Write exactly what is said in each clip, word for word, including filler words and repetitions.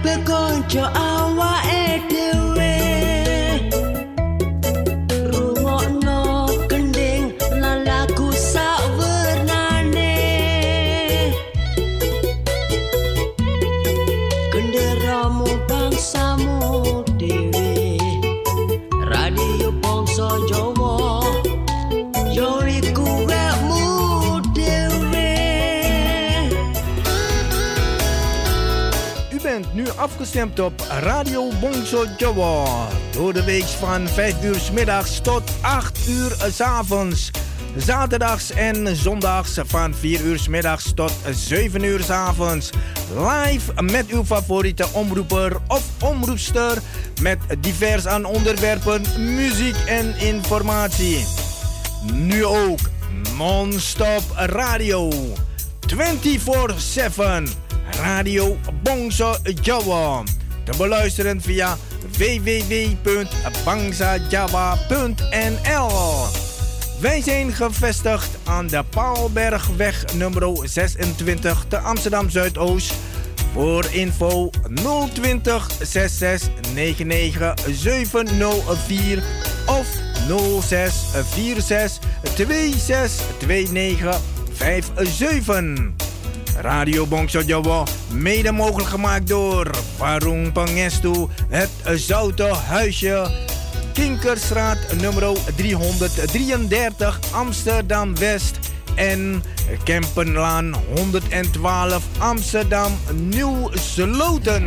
kabeh konco awake dhewe rungokno gending lan lagu sawernane genderamu bangsamu dhewe radio bangsa Jawa yo iku wekmu dhewe. U bent nu afgestemd op Radio Bongso Jawa. Door de week van vijf uur 's middags tot acht uur 's avonds. Zaterdags en zondags van vier uur 's middags tot zeven uur 's avonds. Live met uw favoriete omroeper of omroepster. Met divers aan onderwerpen, muziek en informatie. Nu ook non-stop radio. vierentwintig zeven. Radio Bongso Jawa. Te beluisteren via w w w punt bangsa jawa punt n l. Wij zijn gevestigd aan de Paalbergweg nummer zesentwintig te Amsterdam Zuidoost. Voor info nul twintig zesenzestig negenennegentig zevenhonderd vier of nul zes vier zes twee zes twee negen vijf zeven. Radio Bongso Jawa, mede mogelijk gemaakt door Warung Pangestu, het Zoute Huisje, Kinkerstraat nummer driehonderddrieëndertig Amsterdam West en Kempenlaan honderdtwaalf Amsterdam Nieuw Sloten.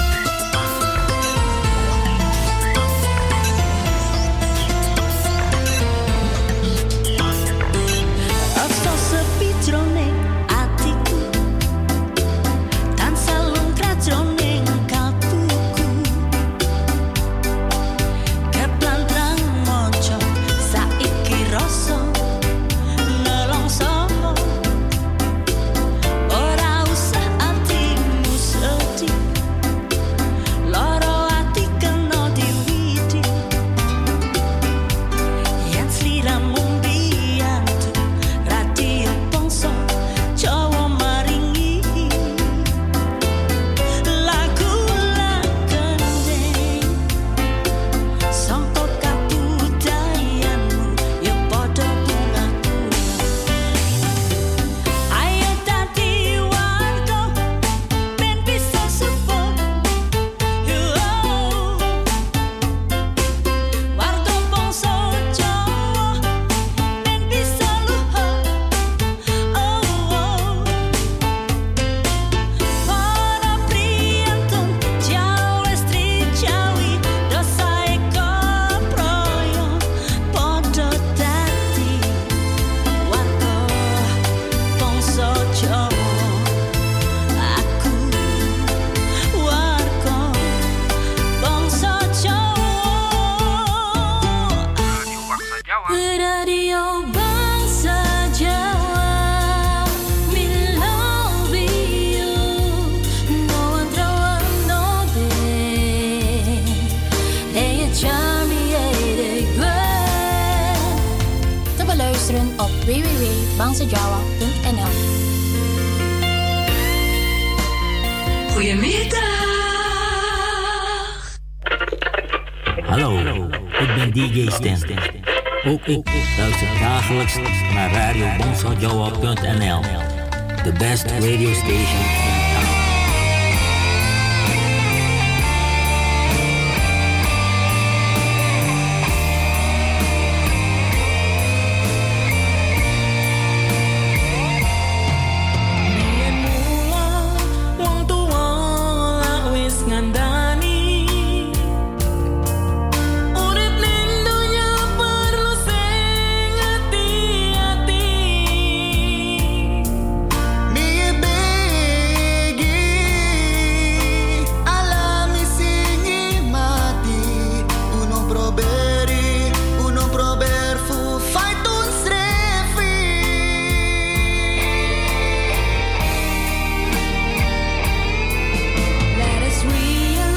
w w w punt bangsa jawa punt n l. Goedemiddag. Hallo, ik ben D J Stan. Ook ik luister dagelijks naar radio bangsa jawa punt n l. The best radio station in town. Let us realize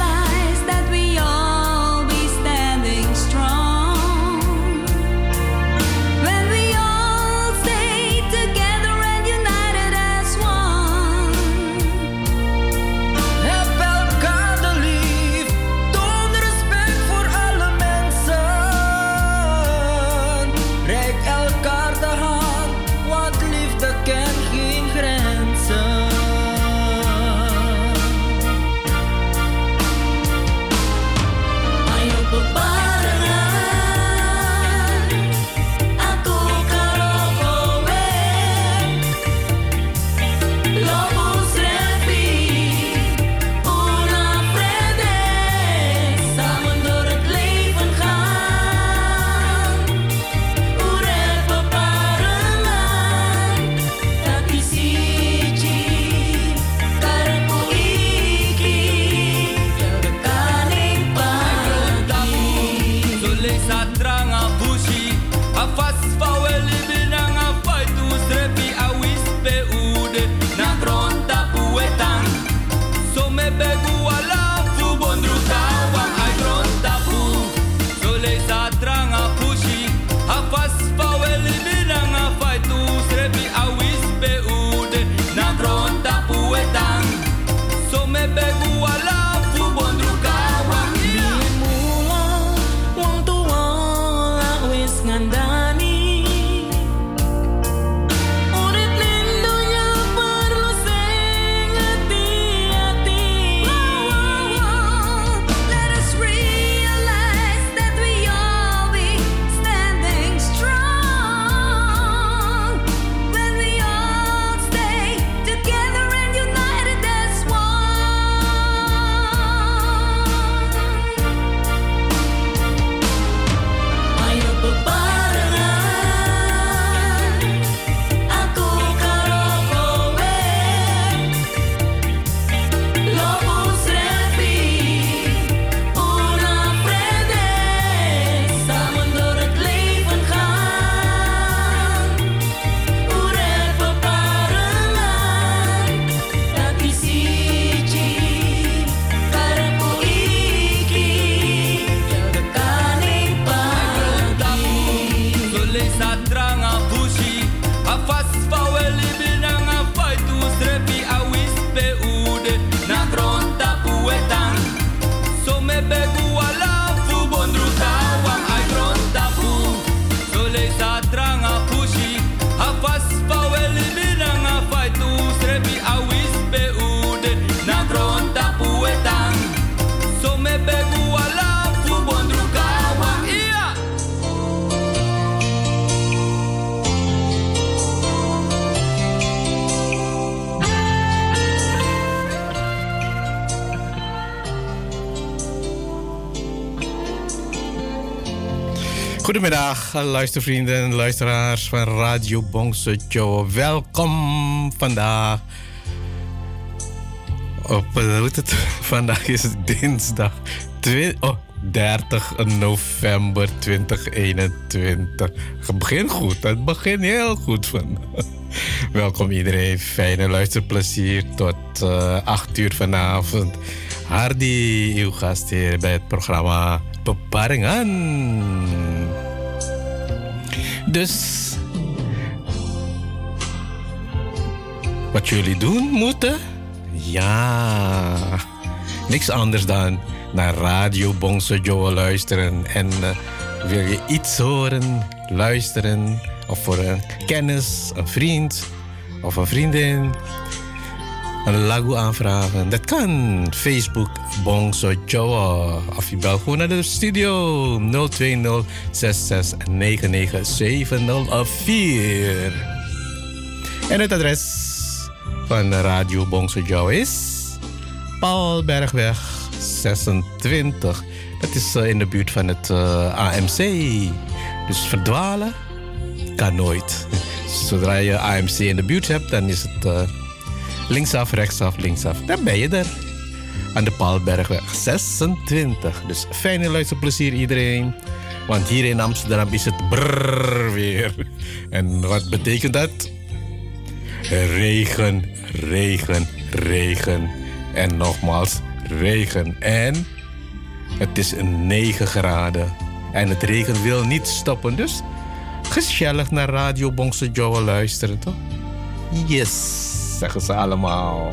Goedemiddag, luistervrienden en luisteraars van Radio Bongso Jowo. Welkom vandaag. Op, uh, hoe het? Vandaag is het dinsdag twi- oh, dertig november tweeduizend eenentwintig. Het begint goed, het begint heel goed vandaag. Welkom iedereen, fijne luisterplezier tot uh, acht uur vanavond. Hardy, uw gast hier bij het programma Beparingen. Dus wat jullie doen moeten? Ja, niks anders dan naar Radio Bongso Jowo luisteren. En uh, wil je iets horen, luisteren, of voor een kennis, een vriend of een vriendin een lagu aanvragen. Dat kan. Facebook Bongso Jowo. Of je belt gewoon naar de studio nul twee nul zes zes negen negen zeven nul vier. En het adres van Radio Bongso Jowo is Paulbergweg zesentwintig. Dat is uh, in de buurt van het uh, A M C. Dus verdwalen kan nooit. Zodra je A M C in de buurt hebt, dan is het Uh, linksaf, rechtsaf, linksaf. Dan ben je er. Aan de Paalbergweg zesentwintig. Dus fijne luisterplezier iedereen. Want hier in Amsterdam is het brrr weer. En wat betekent dat? Regen, regen, regen. En nogmaals regen. En het is negen graden. En het regen wil niet stoppen. Dus gezellig naar Radio Bongso Jowo luisteren, toch? Yes, zeggen ze allemaal.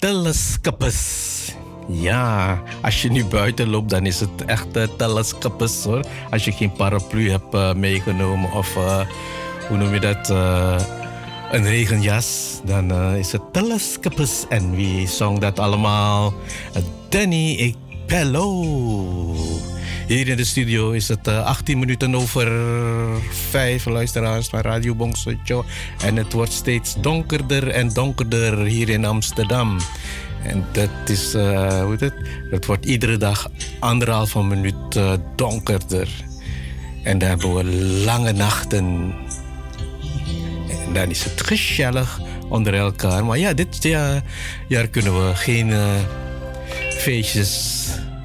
telescopes. Ja, als je nu buiten loopt, dan is het echt uh, telescopes hoor. Als je geen paraplu hebt uh, meegenomen of uh, hoe noem je dat, uh, een regenjas, dan uh, is het telescopes. En wie zong dat allemaal? Danny Pello. Hier in de studio is het uh, achttien minuten over vijf, luisteraars van Radio Bongsojo. En het wordt steeds donkerder en donkerder hier in Amsterdam. En dat is, uh, hoe heet het? Dat wordt iedere dag anderhalve minuut uh, donkerder. En dan hebben we lange nachten. En dan is het gezellig onder elkaar. Maar ja, dit jaar, jaar kunnen we geen uh, feestjes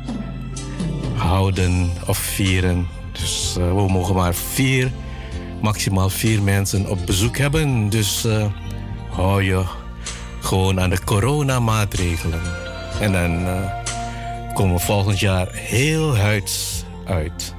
houden of vieren. Dus uh, we mogen maar vier, maximaal vier mensen op bezoek hebben. Dus uh, hou je gewoon aan de coronamaatregelen. En dan uh, komen we volgend jaar heel huids uit.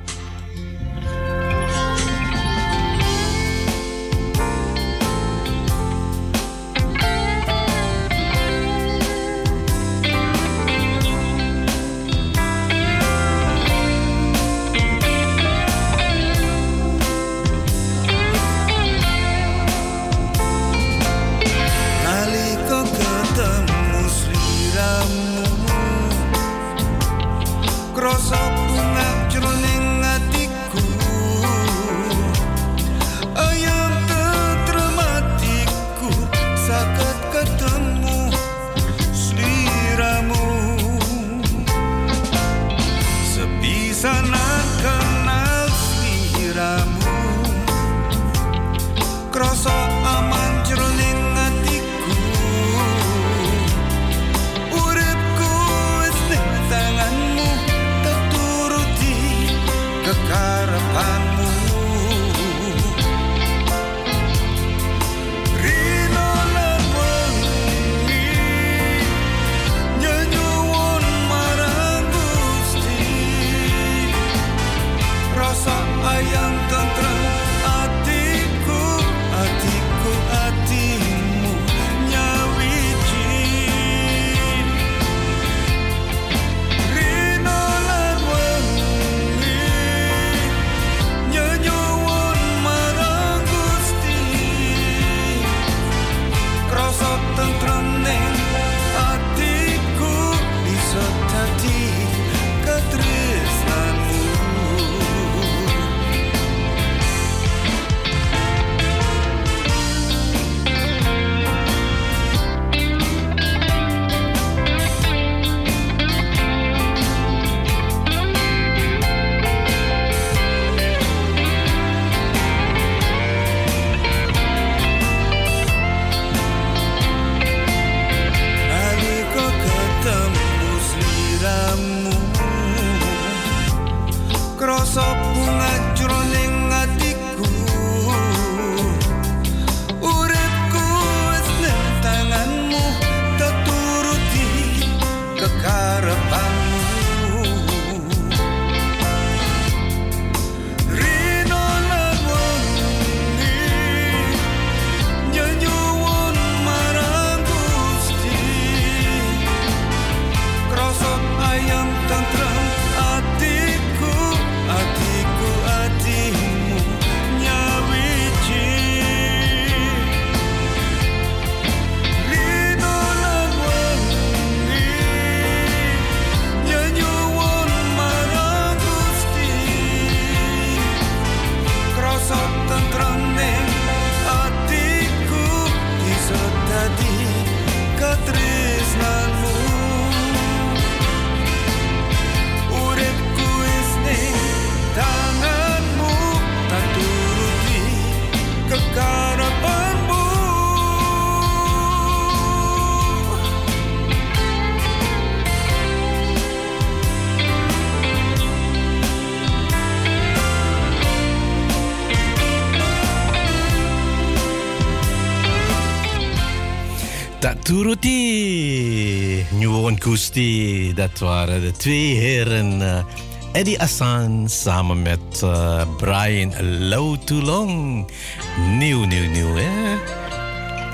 Turuti, Nyuwon Kusti, dat waren de twee heren uh, Eddie Assan samen met uh, Brian Low Too Long. Nieuw, nieuw, nieuw, hè?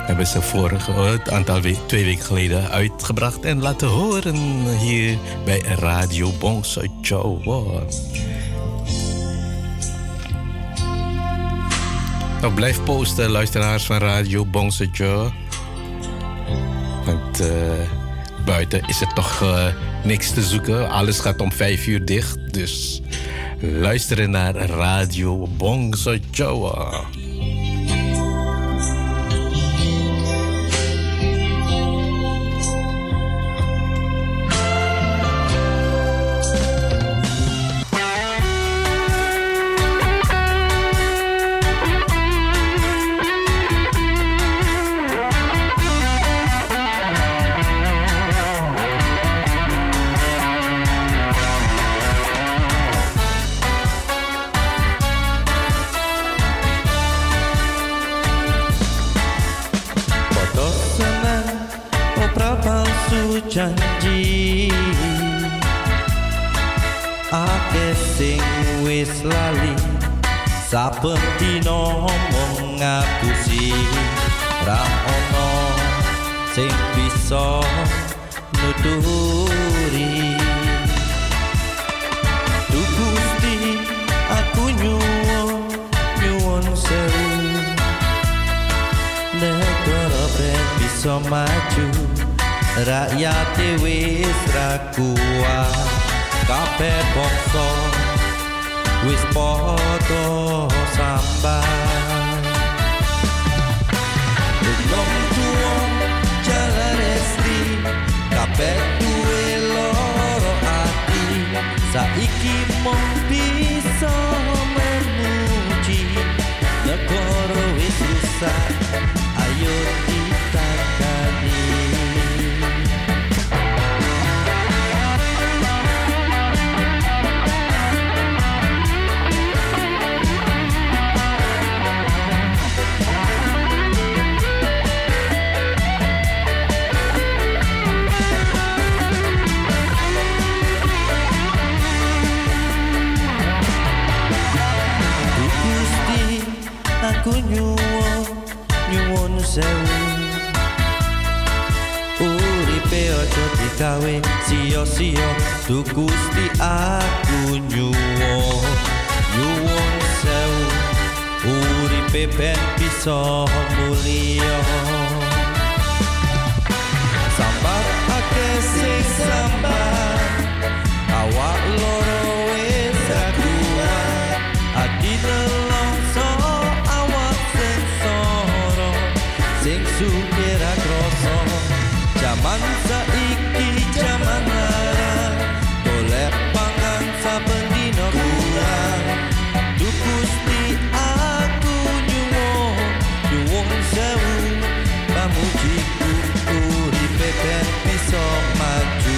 hebben ze vorige, een aantal we- twee weken geleden uitgebracht en laten horen hier bij Radio Bongso Jawa. Nou, blijf posten, luisteraars van Radio Bongso Jawa. Want uh, buiten is er toch uh, niks te zoeken. Alles gaat om vijf uur dicht. Dus luisteren naar Radio Bongso Jawa. Janji akeh sing wis lali saben dina mung ngapusi ra ono sing bisa nuturi Gusti aku nyuwun nyuwun sewu negara ben bisa maju rakyat wis ra kuat kabeh bangsa wis padha sambat Wong tuwa jalan resti kabeh duwe loro ati saiki mung bisa memuji negara wis rusak ayo ditangani Aku nyuwun nyuwun sewu uripe aja digawe sia-sia Du Gusti aku nyuwun nyuwun sewu uripe ben bisa mulya sambat akeh sing sambat awak loro wis ra kuat ati sukira kroso jaman saiki jaman larang golek pangan saben dina kurang Du Gusti aku nyuwun nyuwun sewu pamujiku uripe ben bisa maju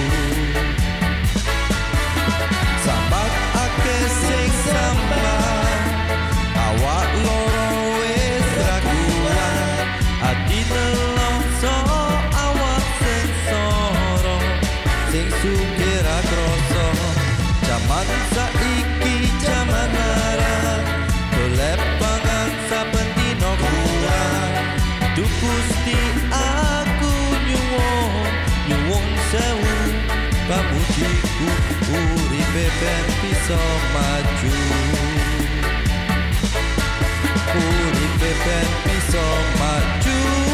sambat akeh sing sambat awak loro wis ra kuat ati nelongso awak sing soro sing sukira kroso jaman saiki jaman larang golek pangan saben dina kurang Du Gusti aku nyuwun nyuwun sewu pamujiku uripe ben bisa maju uripe ben bisa maju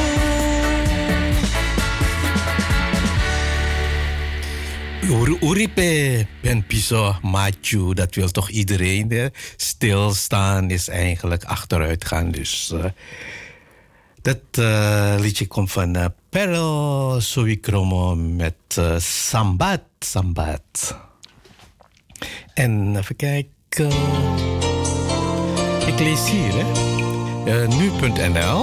Uripe ben bisa maju, dat wil toch iedereen. Hè? Stilstaan is eigenlijk achteruit gaan. Dus uh, dat uh, liedje komt van uh, Perel Sowikromo met uh, Sambat, Sambat. En even kijken. Ik lees hier, hè. Uh, nu punt n l.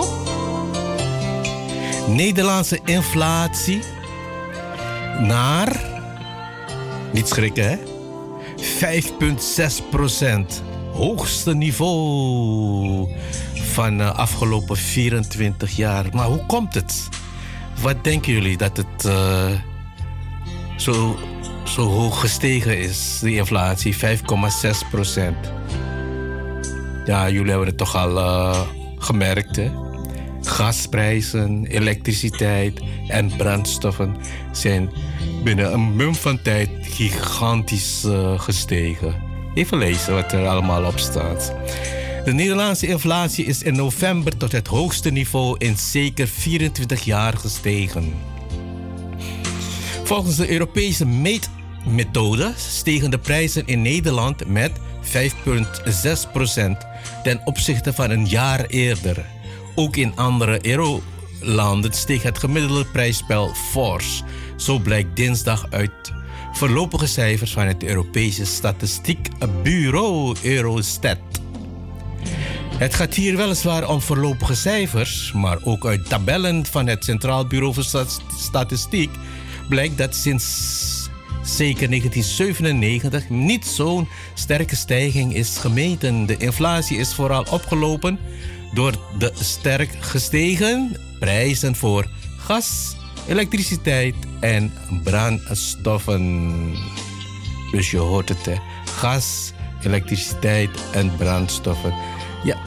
Nederlandse inflatie naar... Niet schrikken, hè? vijf komma zes procent. Hoogste niveau van de afgelopen vierentwintig jaar. Maar hoe komt het? Wat denken jullie dat het uh, zo, zo hoog gestegen is, die inflatie? vijf komma zes procent. Ja, jullie hebben het toch al uh, gemerkt, hè? Gasprijzen, elektriciteit en brandstoffen zijn binnen een mum van tijd gigantisch uh, gestegen. Even lezen wat er allemaal op staat. De Nederlandse inflatie is in november tot het hoogste niveau in zeker vierentwintig jaar gestegen. Volgens de Europese meetmethode stegen de prijzen in Nederland met vijf komma zes procent ten opzichte van een jaar eerder. Ook in andere eurolanden steeg het gemiddelde prijsspel fors. Zo blijkt dinsdag uit voorlopige cijfers van het Europese Statistiekbureau Eurostat. Het gaat hier weliswaar om voorlopige cijfers, maar ook uit tabellen van het Centraal Bureau voor Statistiek blijkt dat sinds zeker negentien zevenennegentig niet zo'n sterke stijging is gemeten. De inflatie is vooral opgelopen door de sterk gestegen prijzen voor gas, elektriciteit en brandstoffen. Dus je hoort het, hè. Gas, elektriciteit en brandstoffen. Ja,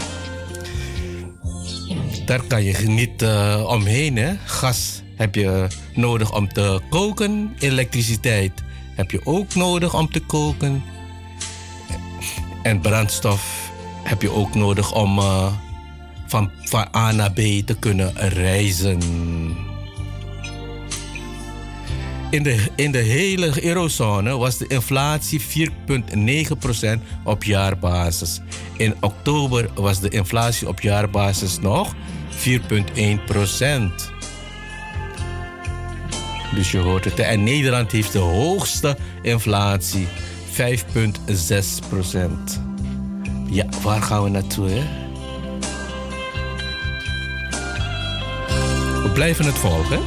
daar kan je niet uh, omheen, hè. Gas heb je nodig om te koken. Elektriciteit heb je ook nodig om te koken. En brandstof heb je ook nodig om uh, van, van A naar B te kunnen reizen. In de, in de hele eurozone was de inflatie vier komma negen procent op jaarbasis. In oktober was de inflatie op jaarbasis nog vier komma één procent. Dus je hoort het. En Nederland heeft de hoogste inflatie, vijf komma zes procent. Ja, waar gaan we naartoe, hè? We blijven het volgen.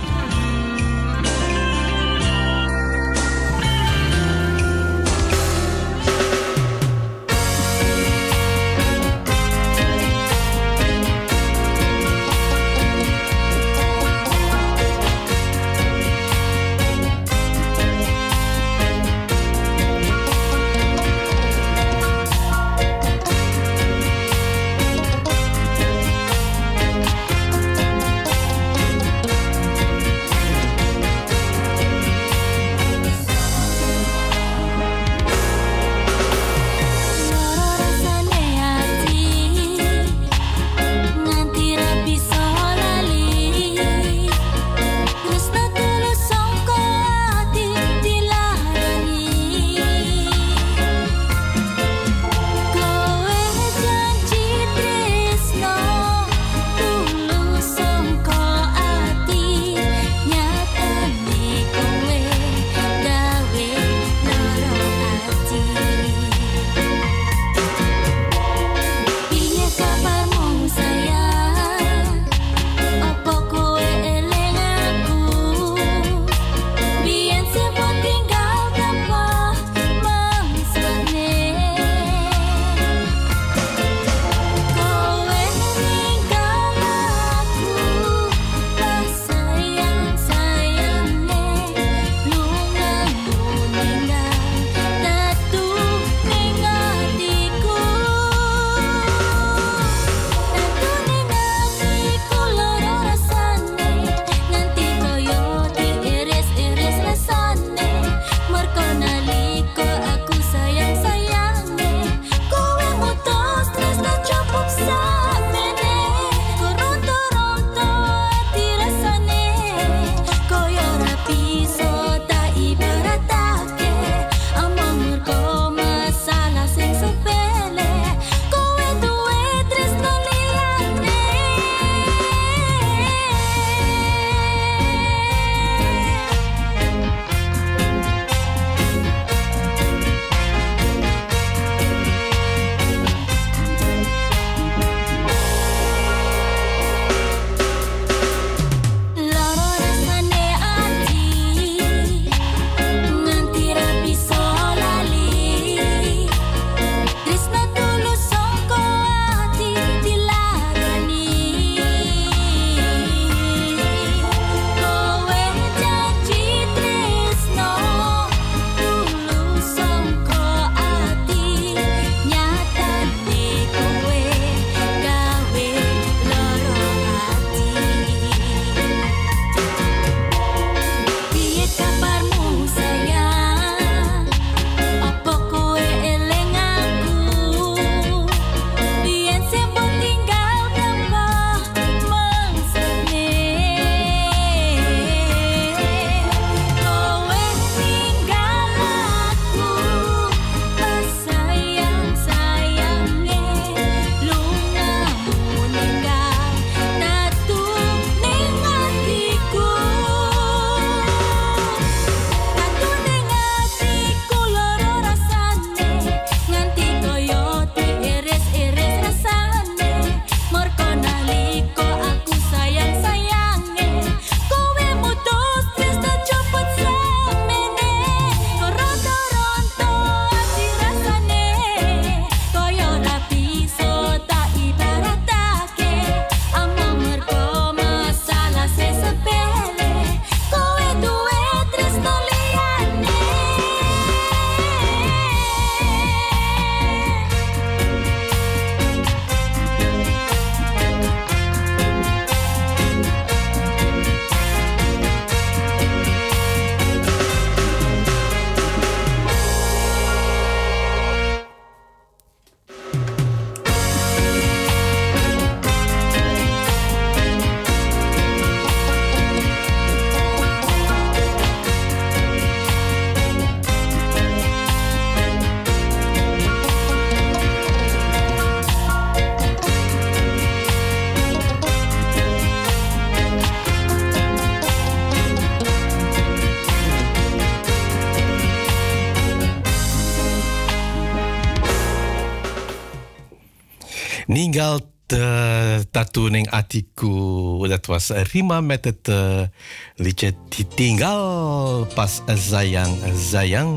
Ninggal tatuning atiku. Dat was Rima met het uh, liedje Ditinggal pas sayang sayang.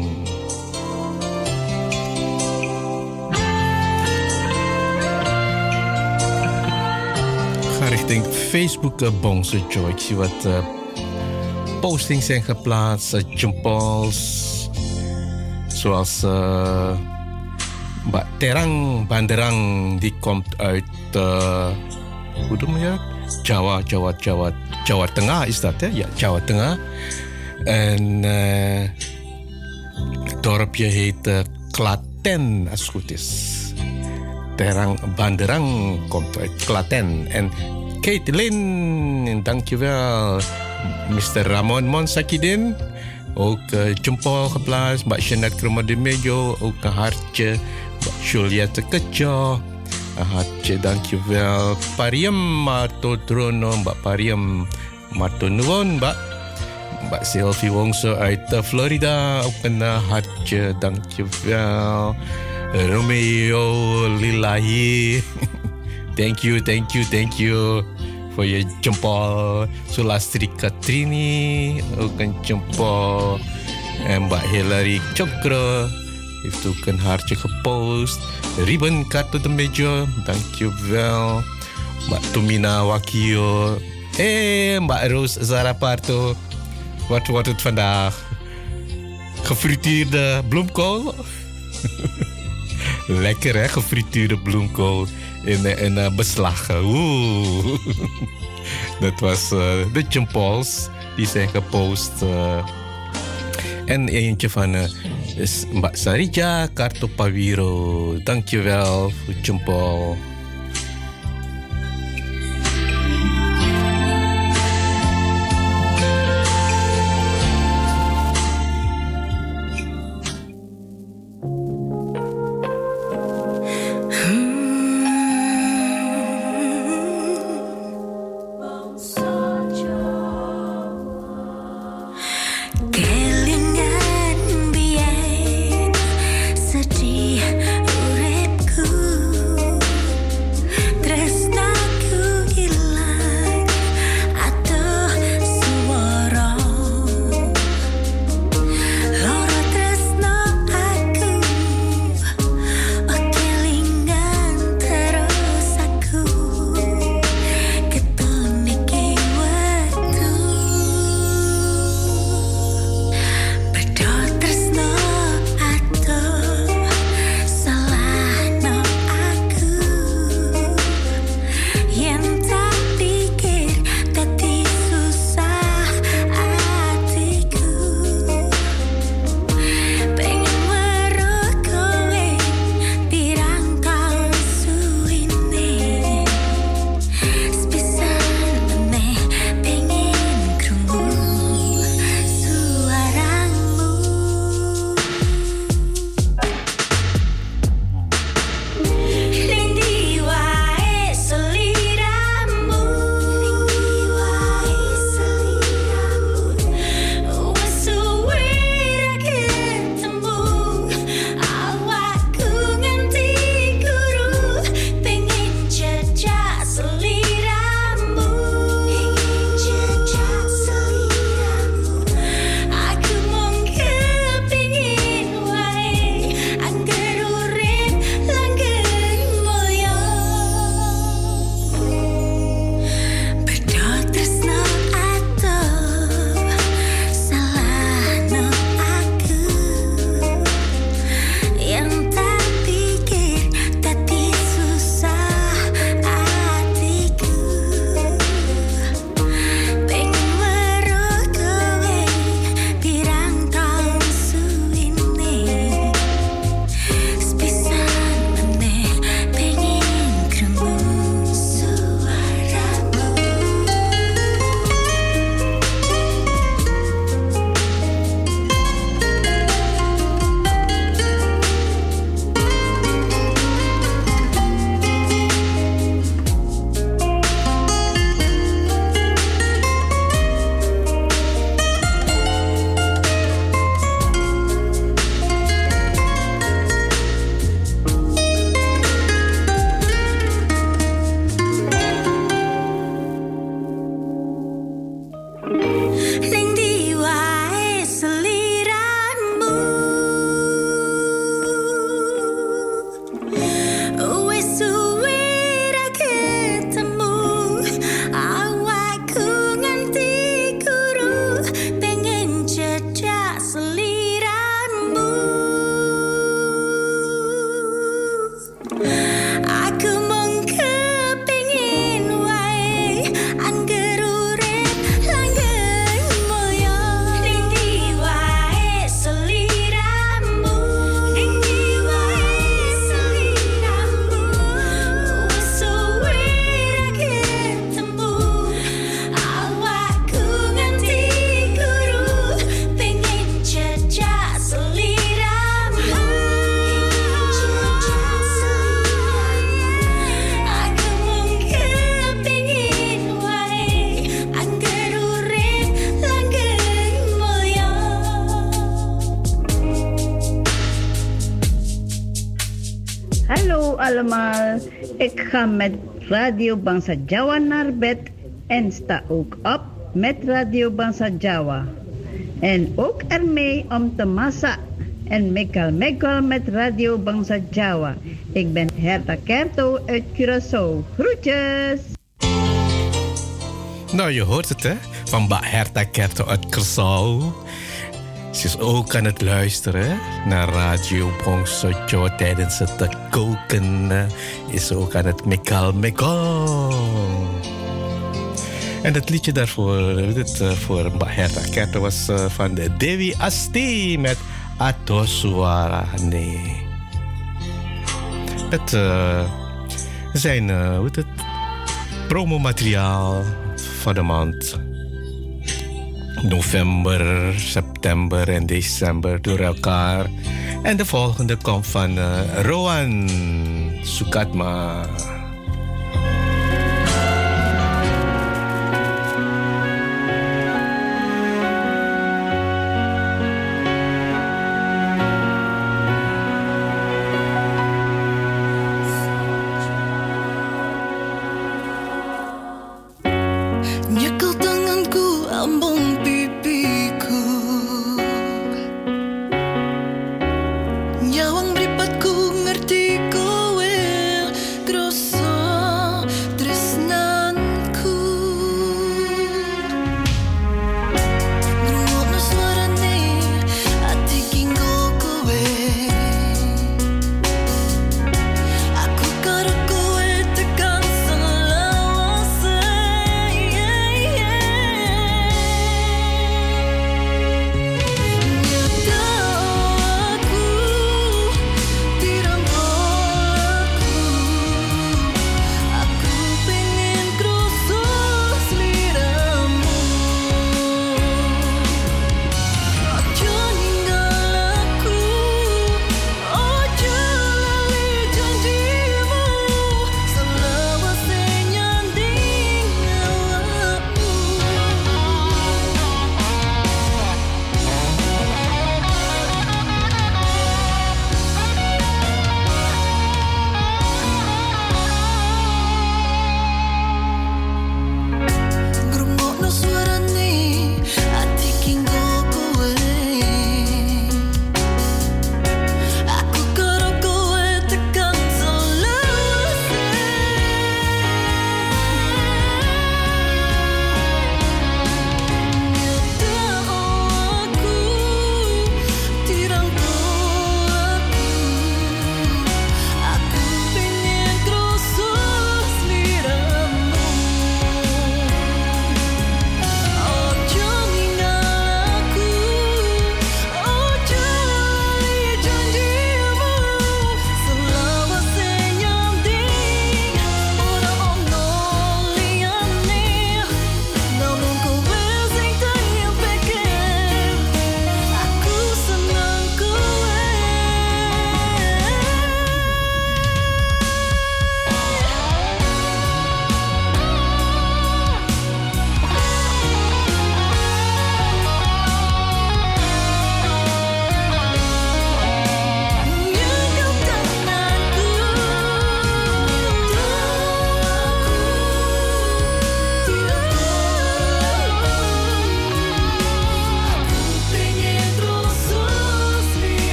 Ga richting Facebook uh, Bongso Joe. Ik zie wat uh, postings zijn geplaatst, uh, jumpols. Zoals uh, Terang Banderang, die komt uit, uh, hoe noem je dat? Jawa, Jawa, Jawa, Jawa Tengah is dat, hè? Ja, Jawa Tengah. En uh, het dorpje heet uh, Klaten, als het goed is. Terang Banderang komt uit Klaten. En Caitlin, dankjewel. mister Ramon Monsakidin. Ook uh, jempol geplaatst. Mbak Jeanette Kromodemejo. Ook een hartje. Mbak Juliette Kejo. Een hartje, dankjewel. Pariam Marto Trono. Mbak Pariam Marto Nuwon. Mbak, Mbak Sylvie Wongso uit uh, Florida. Ook een uh, hartje, dankjewel. Romeo Lilahi. Thank you, thank you, thank you. Voor je jempol. Sulastri Katrini, ook een jempol. En Mbak Hilary Chokro heeft ook een hartje gepost. Ribbon Kartu de Mejo, dankjewel. Mbak Tumina Wakio. Hé, Mbak Roos Zaraparto. Wat wordt het vandaag? Gefrituurde bloemkool? Lekker hè, gefrituurde bloemkool. In, in uh, beslag. Oeh. Dat was uh, de jumpols die zijn gepost. Uh, en eentje van uh, is Mbak Sarija Kartopawiro. Dankjewel voor jumpol. Sedih uripku allemaal. Ik ga met Radio Bangsa Jawa naar bed en sta ook op met Radio Bangsa Jawa. En ook ermee om te massa en mekal mekal met Radio Bangsa Jawa. Ik ben Herta Kerto uit Curaçao. Groetjes! Nou, je hoort het, hè? Van Ba Herta Kerto uit Curaçao. Ze is ook aan het luisteren naar Radio Bongso Jawa tijdens het koken. Is ze ook aan het mekal mekal. En dat liedje daarvoor, dit, uh, voor Mbak Herta Kerto was uh, van de Dewi Asti met Ato Suara. Nee. Het uh, zijn uh, hoe heet het, promomateriaal van de maand november, september en december door elkaar. En de volgende komt van uh, Rowan Sukatma. Yeah.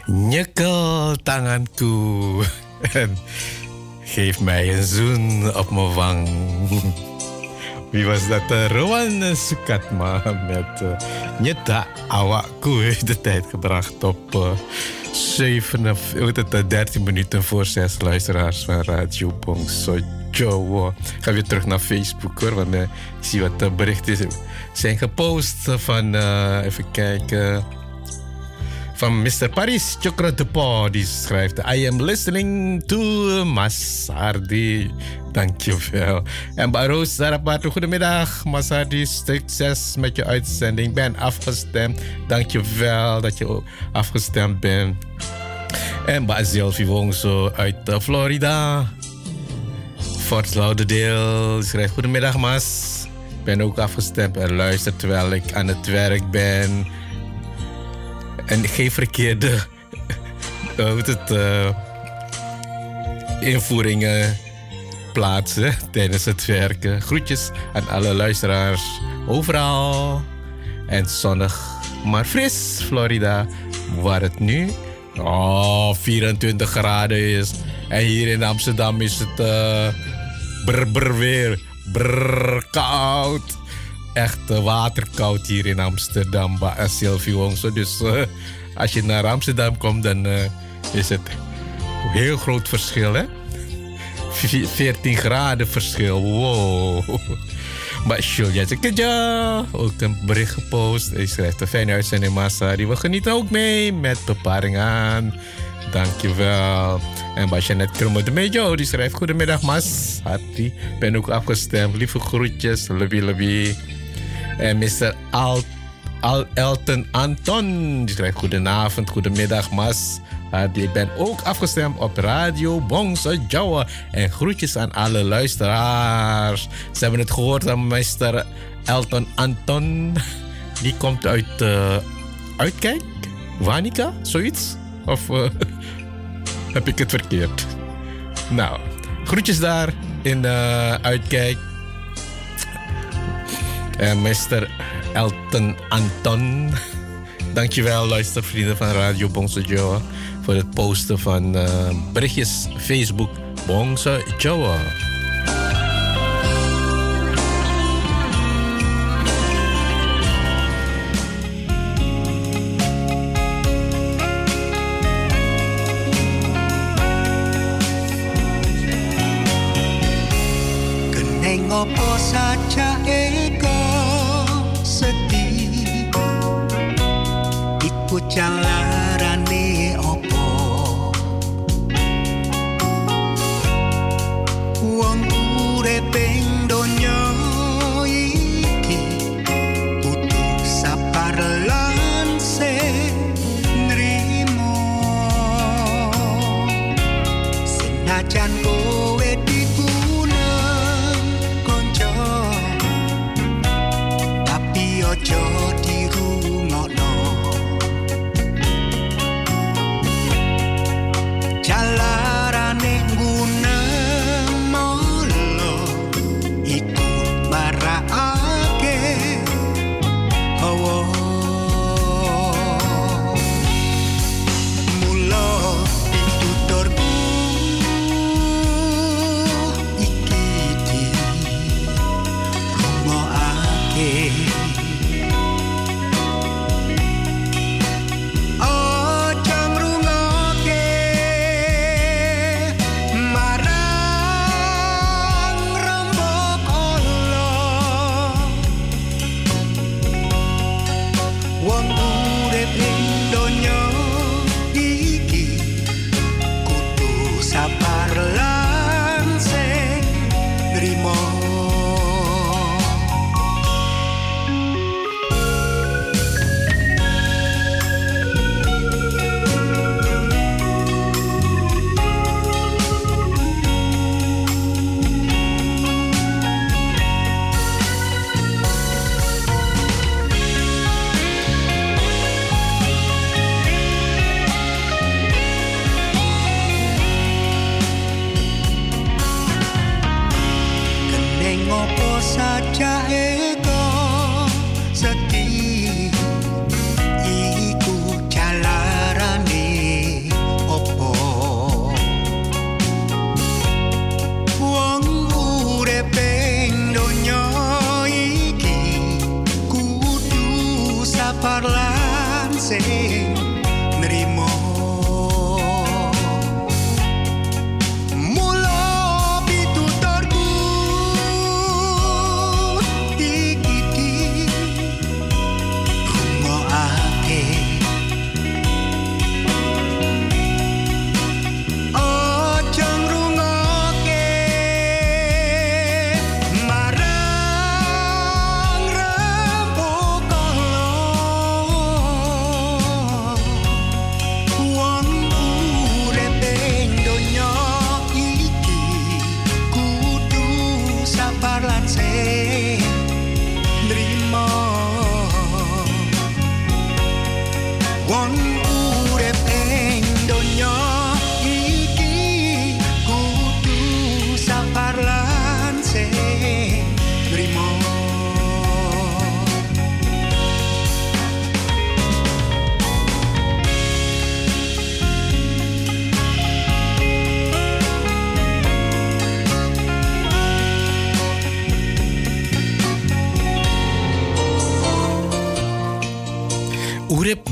Nyekel tanganku en geef mij een zoen op mijn wang. Wie was dat? Rowan Sukatma met uh, Nyeta Awakku heeft de tijd gebracht op uh, zeven, dertien minuten voor zes luisteraars van Radio Bongso Jowo. Ik ga weer terug naar Facebook hoor, want uh, ik zie wat uh, berichten zijn gepost van, uh, even kijken, van mister Paris Chokrotepo. Die schrijft, I am listening to Masardi. Dankjewel. En Baroos Sarapatu, goedemiddag. Masardi, succes met je uitzending. Ik ben afgestemd. Dankjewel dat je afgestemd bent. En Basil Vivongso uit uh, Florida. Fort Lauderdale schrijft, goedemiddag Mas. Ik ben ook afgestemd en luister terwijl ik aan het werk ben. En geen verkeerde uh, hoe het, uh, invoeringen plaatsen tijdens het werken. Groetjes aan alle luisteraars overal. En zonnig, maar fris Florida, waar het nu oh, vierentwintig graden is. En hier in Amsterdam is het uh, brr, brr weer, brr, koud. Echt uh, waterkoud hier in Amsterdam, bij Sylvie Wongso. Dus uh, als je naar Amsterdam komt, dan uh, is het een heel groot verschil, hè? veertien graden verschil, wow. Maar Julia Zekadja, ook een bericht gepost. Hij schrijft een fijne uitzending, Massa. Die we genieten ook mee met beparing aan. Dankjewel. En Basjanet Kromme de Mejo, die schrijft, goedemiddag Mas. Hartelijk, ben ook afgestemd. Lieve groetjes, lobby lobby. En mister Al, Al Elton Anton, die schrijft, goedenavond, goedemiddag Mas. Ik ben ook afgestemd op Radio Bongso Jowo. En groetjes aan alle luisteraars. Ze hebben het gehoord aan meester Elton Anton. Die komt uit uh, Uitkijk, Wanica, zoiets. Of uh, heb ik het verkeerd? Nou, groetjes daar in uh, Uitkijk. En meester Elton Anton. Dankjewel luistervrienden van Radio Bongso Jowo voor het posten van uh, berichtjes Facebook Bongso Jowo. Keneng opo saja ego sedih iku jalarane opo wong urip ing donya iki kudu sabar lan nrimo senajan kowe dikunang konco tapi ojo dirungokno jalarane guna molo iku marakake hawa mulo pituturku iki di rungokake ojo ngrungokke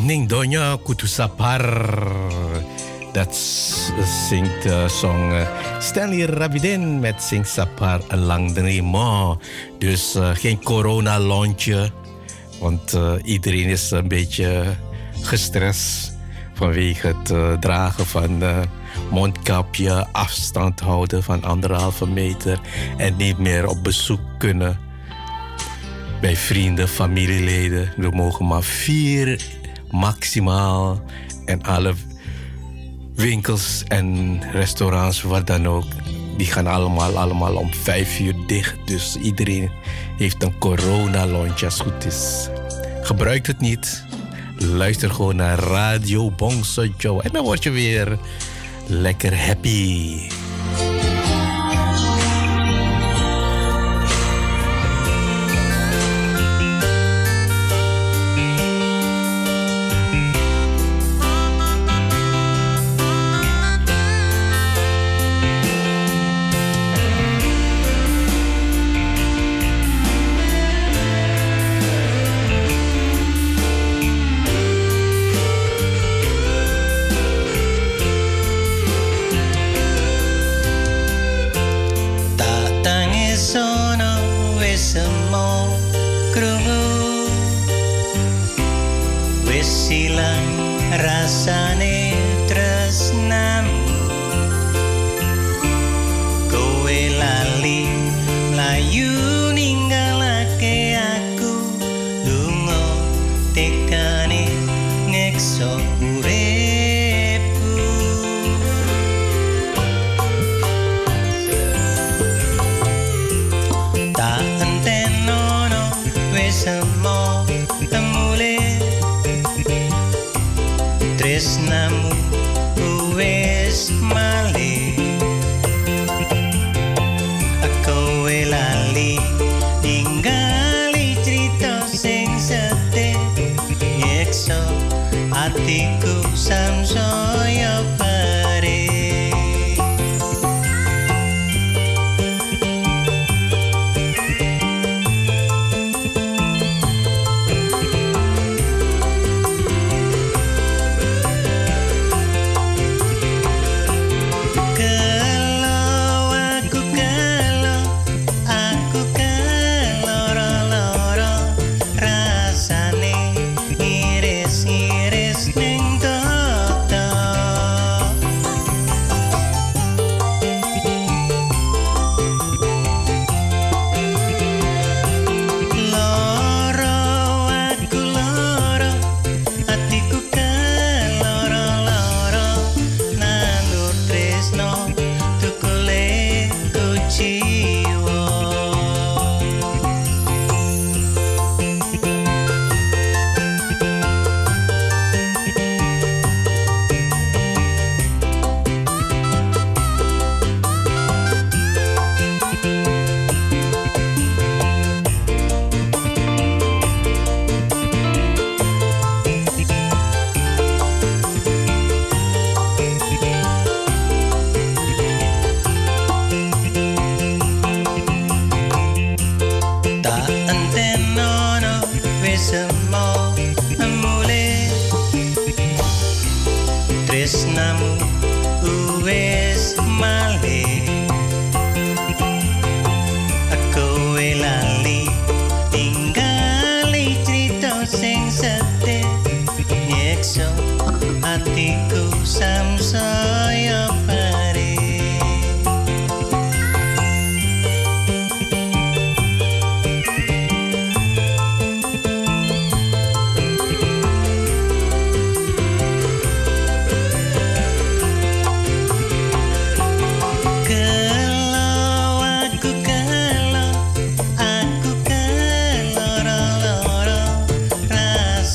Ning Donya Kutu Sapar. Dat zingt de song uh, Stanley Rabidin met Sing Sapar een lang dremo. Dus uh, geen corona-lontje. Want uh, iedereen is een beetje gestrest vanwege het uh, dragen van uh, mondkapje, afstand houden van anderhalve meter en niet meer op bezoek kunnen bij vrienden, familieleden. Er mogen maar vier maximaal en alle winkels en restaurants, wat dan ook, die gaan allemaal, allemaal om vijf uur dicht. Dus iedereen heeft een corona-lontje als het goed is. Gebruik het niet. Luister gewoon naar Radio Bongso Joe. En dan word je weer lekker happy.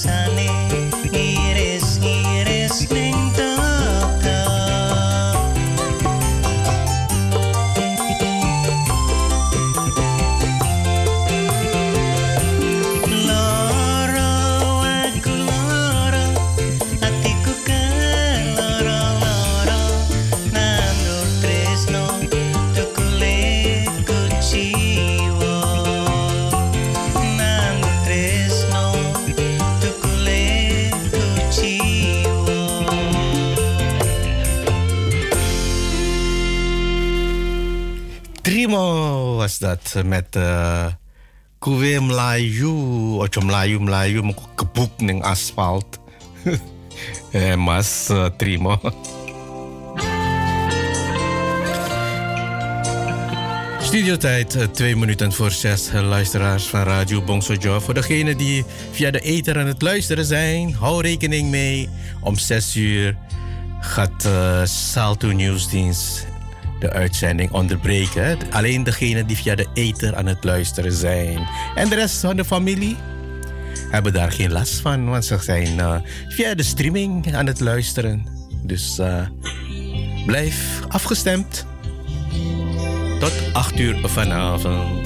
Iris-iris ning tata Trimo was dat met uh, Kuwe Melayu, Ocho Melayu Melayu, mau kebuk ning asfalt. eh, Mas uh, Trimo. Studiotijd, uh, twee minuten voor zes, uh, luisteraars van Radio Bongsojo. Voor degenen die via de ether aan het luisteren zijn, hou rekening mee. Om zes uur gaat uh, Salto Nieuwsdienst de uitzending onderbreken. Hè? Alleen degenen die via de ether aan het luisteren zijn. En de rest van de familie hebben daar geen last van, want ze zijn uh, via de streaming aan het luisteren. Dus uh, blijf afgestemd. Tot acht uur vanavond.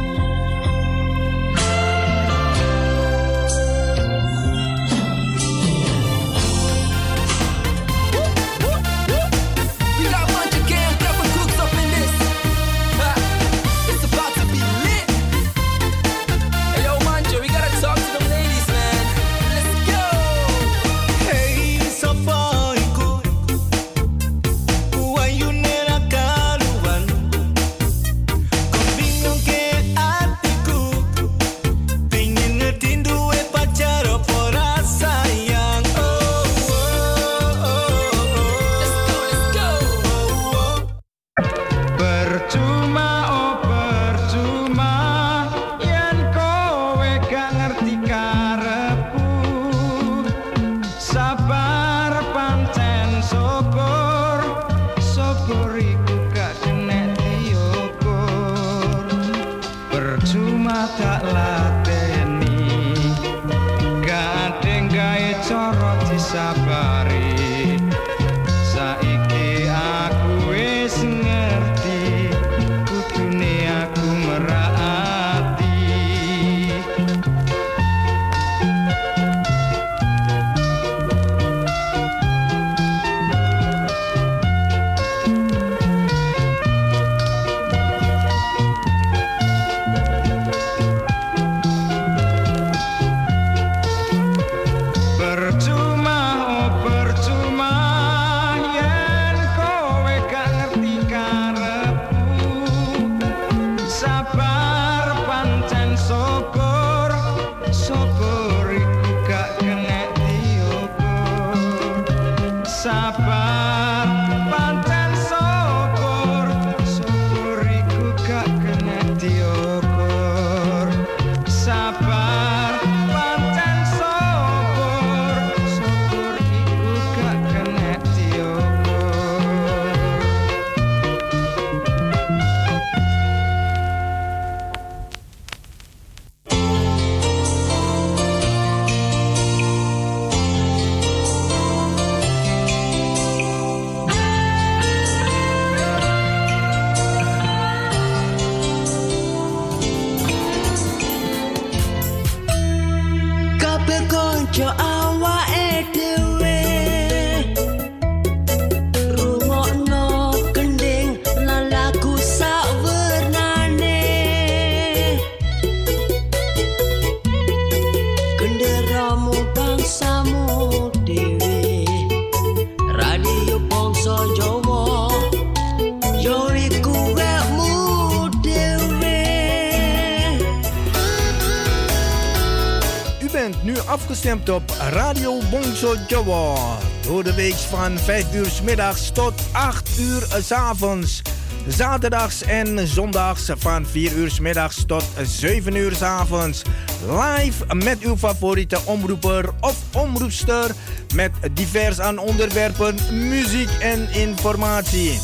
Afgestemd op Radio Bongsojo. Door de week van vijf uur 's middags tot acht uur 's avonds. Zaterdags en zondags van vier uur 's middags tot zeven uur 's avonds. Live met uw favoriete omroeper of omroepster. Met divers aan onderwerpen, muziek en informatie.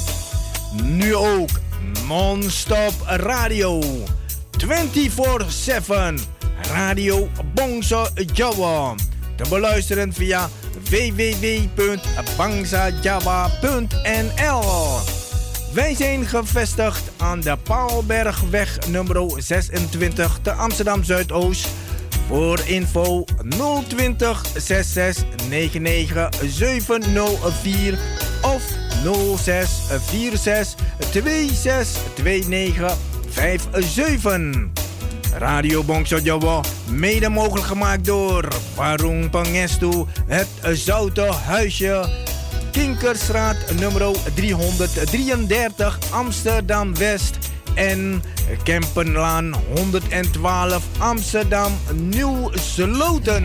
Nu ook non-stop radio. vierentwintig zeven. Radio Bongsojo. Te beluisteren via w w w punt bangsajawa punt n l. Wij zijn gevestigd aan de Paalbergweg nummer zesentwintig te Amsterdam Zuidoost. Voor info nul twintig zesenzestig negenennegentig zevenhonderdvier of nul zes vier zes twee zes twee negen vijf zeven. Radio Bongsojo, mede mogelijk gemaakt door Warung Pangestu, het Zoute Huisje, Kinkerstraat nummer driehonderddrieëndertig Amsterdam West. en Kempenlaan honderdtwaalf Amsterdam Nieuw Sloten.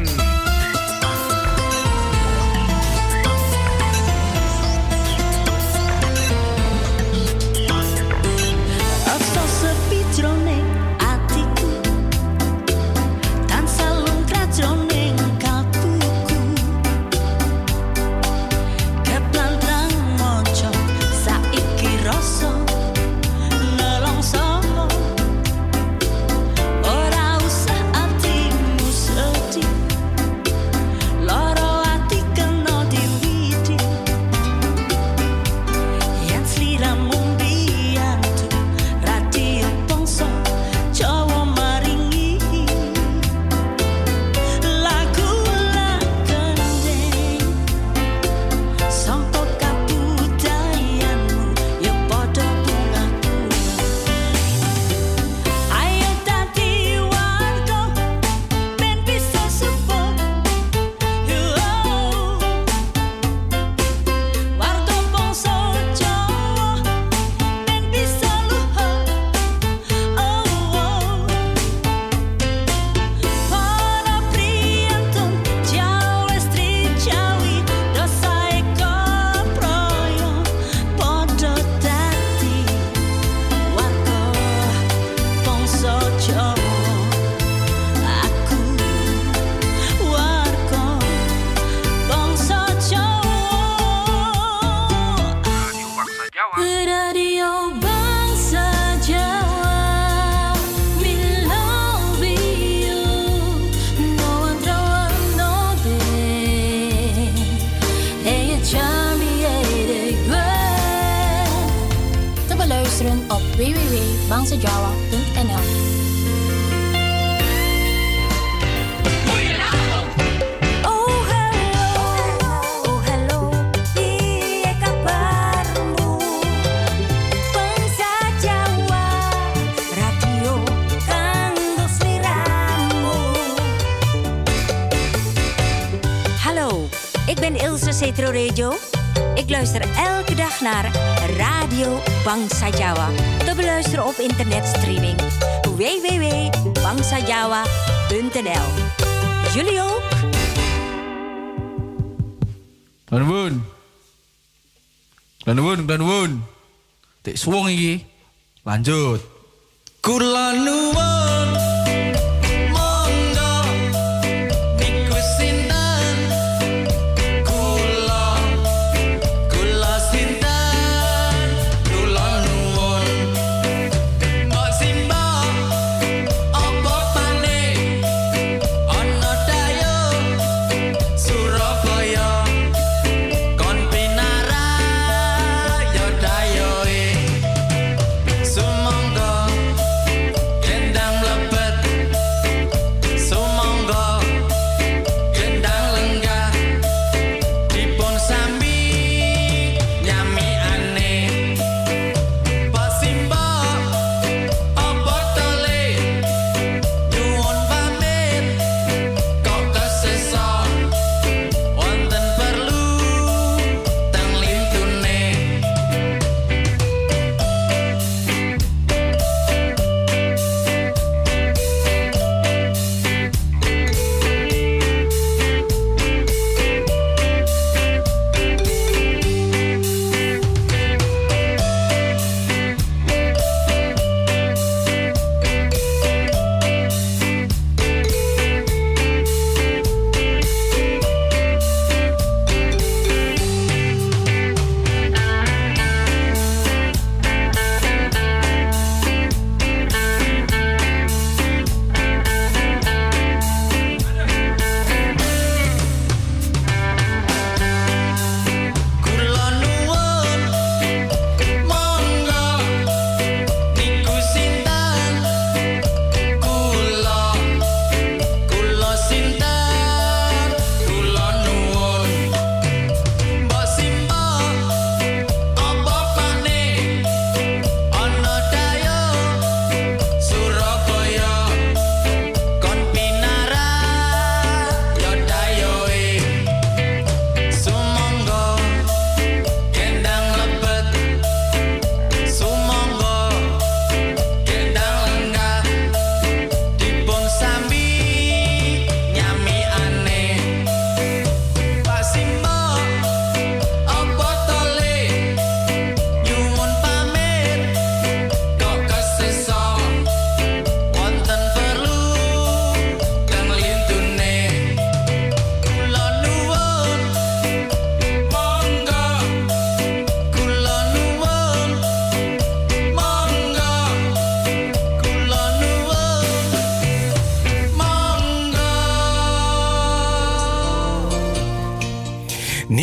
Op w w w punt bangsa jawa punt n l. Ik ben Ilse Cetro Radio. Ik luister elke dag naar Radio Bangsa Jawa. Te beluisteren op internetstreaming w w w punt bangsa jawa punt n l. Jullie ook? Danwoon. Danwoon, Danwoon. Tek swong iki. Lanjut. Kula nuwun monggo niku sinten kula kula sinten kula nuwun mbok simbok apa maneh ana dayo Surabaya kon pinara yo dayoe sumangga yen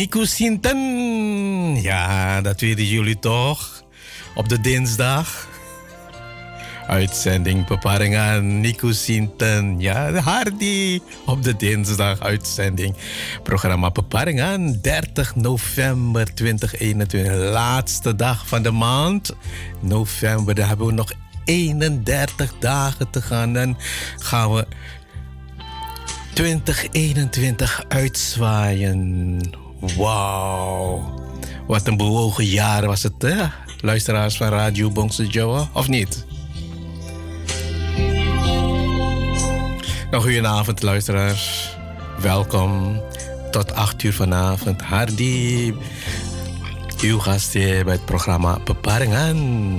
Nico Sinten. Ja, dat weten jullie toch. Op de dinsdag. Uitzending Peparingan, Nico Sinten. Ja, Hardy. Op de dinsdag uitzending. Programma Peparingan, dertig november tweeduizend eenentwintig. Laatste dag van de maand. November, daar hebben we nog eenendertig dagen te gaan. Dan gaan we twintig eenentwintig uitzwaaien. Wauw. Wat een bewogen jaar was het, hè? Luisteraars van Radio Bongso Jowo, of niet? Nog goedenavond, luisteraars. Welkom tot acht uur vanavond. Hardy, uw gast hier bij het programma Peparingan.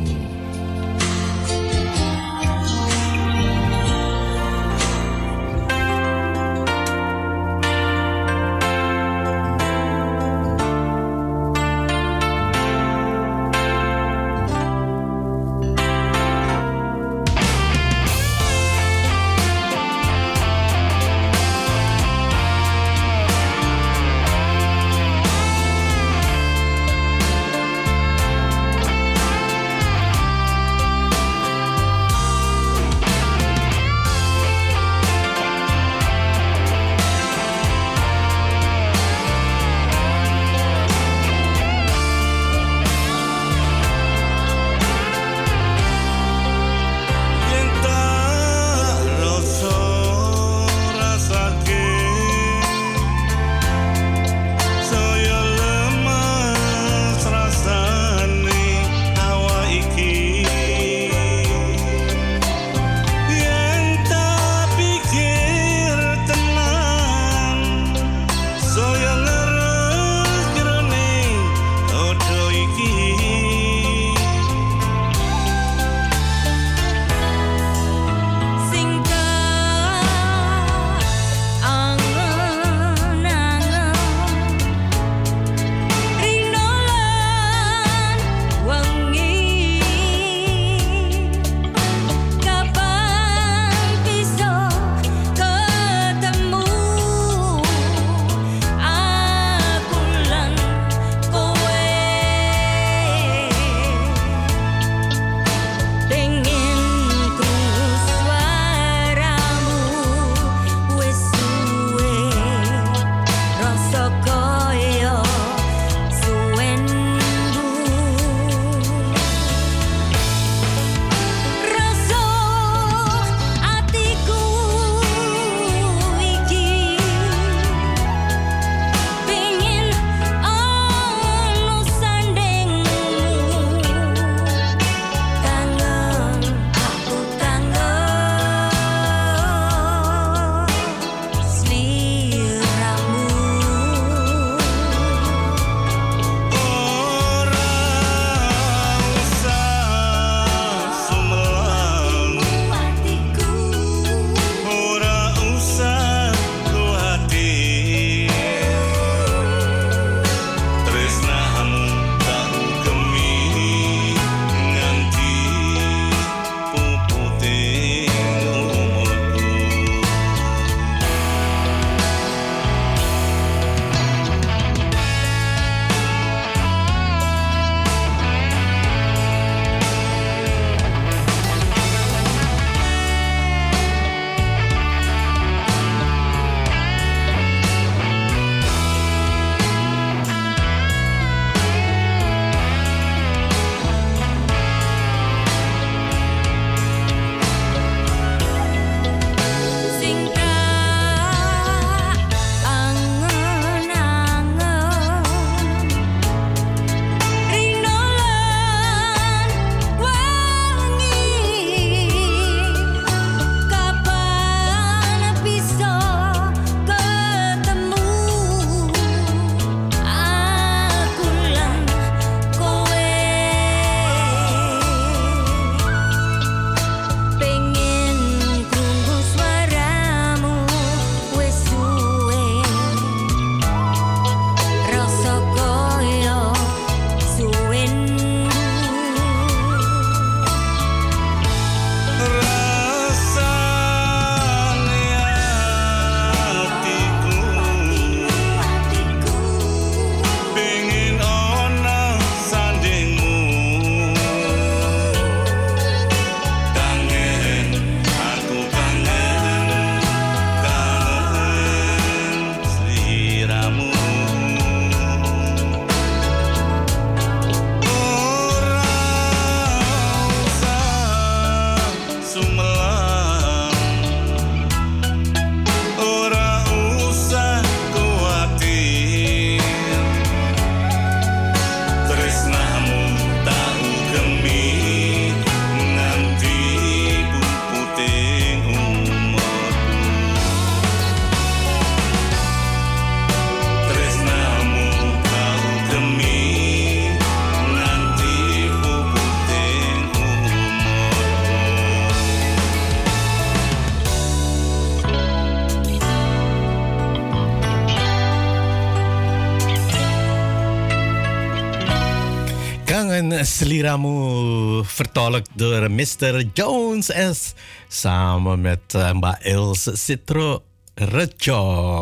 Jangan Seliramu vertolkt door mister Jones S. Samen met uh, Mbak Els Citro Rejo.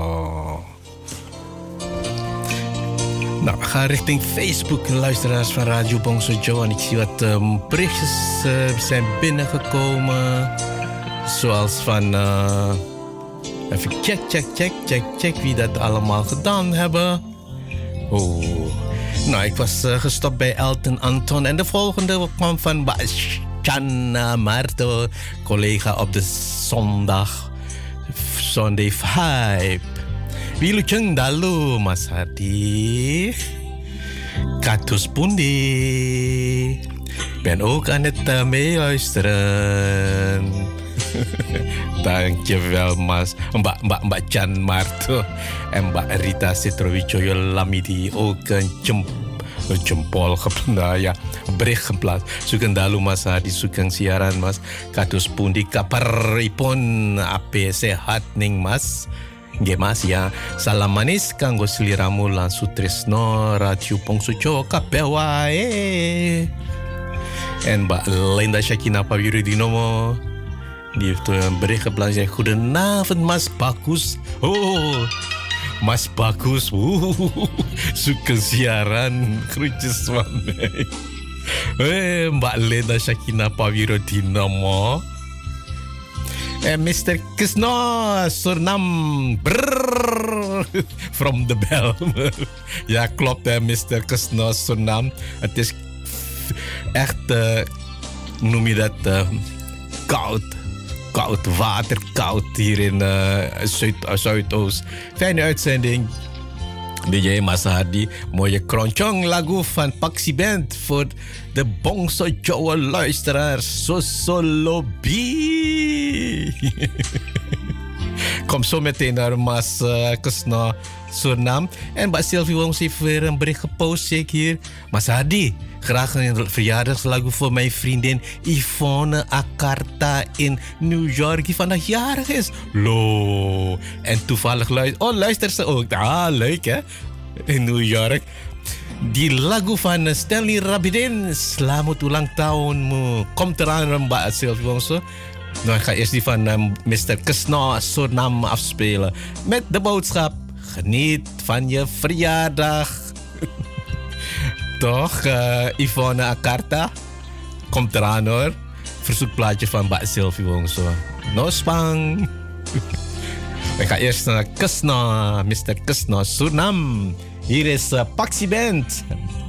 Nou, we gaan richting Facebook, luisteraars van Radio Bongso Joe. En ik zie wat um, berichtjes uh, zijn binnengekomen. Zoals van... Uh, even check, check, check, check, check wie dat allemaal gedaan hebben. Oh... Nou, ik was uh, gestopt bij Elton Anton. En de volgende kwam van Chana Marto, collega op de zondag. Sunday Vibe. Wilujeng dalu, Mas Hadi. Katus Pundi. Ben ook aan het uh, meeluisteren. Dankjewel, Mas. Mbak, Mbak, Mbak Chan Marto en Mbak Rita Citrowijoyo Lamidi ook een jump, jempol geplaatst, ja, bericht geplaatst. Sugeng dalu Mas Hadi, sugeng siaran Mas. Kados pundi kabaripun, ape sehat ning Mas. Nggih Mas ya. Salam manis kanggo sliramu lan Sutrisno Radio Bongso Jowo kabeh wae. En Mbak Linda Shakina Pawirudinomo. Die heeft een bericht geplaatst. Zegt, goedenavond, Mas Bagus. Oh, Mas Bagus. Oeh, zoek een siaran. Groetjes van mij. Hey, Mbak Leda Shakina Pawirudinomo. En mister Kisno Surnam. Brrr, from the Belmer. Ja, klopt, hè, mister Kisno Surnam. Het is echt, uh, hoe noem je dat, uh, koud. Koud water, koud hier in uh, Zuid, uh, Zuidoost. Fijne uitzending. D J Mas Hadi. Mooie kronchong lagu van Paxi Band voor de Bongso Jowo luisteraars. Sosolobi. Kom zo meteen naar Mas uh, Kisno Surnam. En Mbak Sylvie Wongs heeft weer een bericht gepost, zie ik hier. Mas Hadi, graag een verjaardagslagu voor mijn vriendin Yvonne Akarta in New York, die vandaag jarig is. Lo. En toevallig luistert... Oh, luistert ze ook. Ah, leuk hè? In New York. Die lagu van Stanley Rabidin. Selamat ulang tahunmu. Komt eraan, Mbak Sylvie Wongs. Nou, ik ga eerst die van um, mister Kisno Surnam afspelen. Met de boodschap: geniet van je verjaardag. Toch, uh, Yvonne Akarta? Komt eraan hoor. Verzoekplaatje van Mbak Sylvie Wongso. No spang. Ik ga eerst naar Kisno, mister Kisno Surnam. Hier is uh, Paxi Band.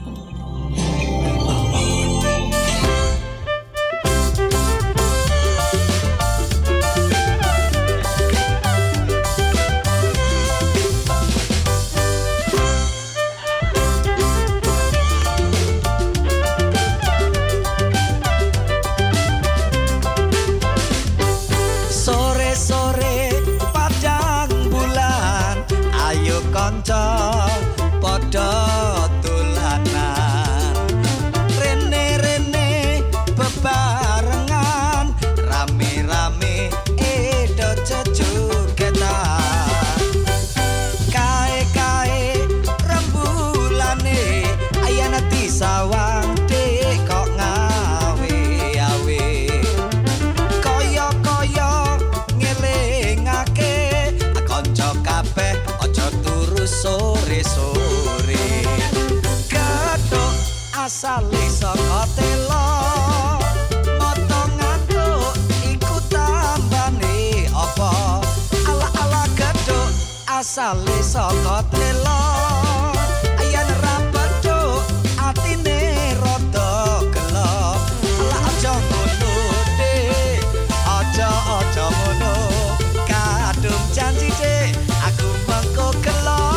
Asale saka telo motonganku iku tambane apa ala-ala gedhok asale saka telo ayan ra bedhok atine rada gelo ala aja ngono de aja aja ngono kadung janji de aku mengko gelo.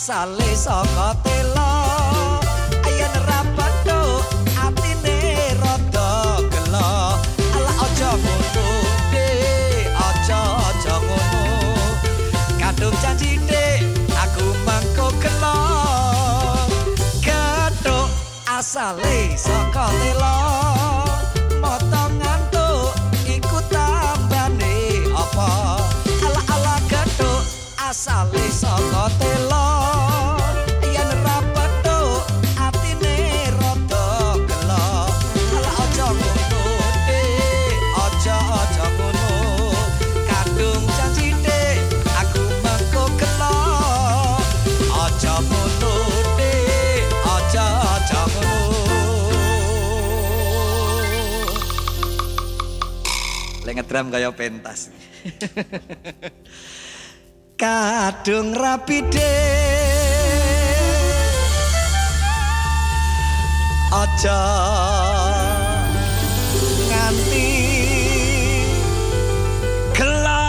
asale saka telo ayen ra petuk atine rada gelo ala aja ngono de aja aja ngono kadung janji de aku mangko gelo ketuk asale saka telo moto ngantuk iku tambane apa ala ala ketuk asale saka telo yen ra petuk atine rada gelo ala aja ngono de aja aja ngono kadung janji de aku mengko gelo aja ngono de aja aja ngono lek ngedram kaya pentas kadung rapi de aja nganti gelo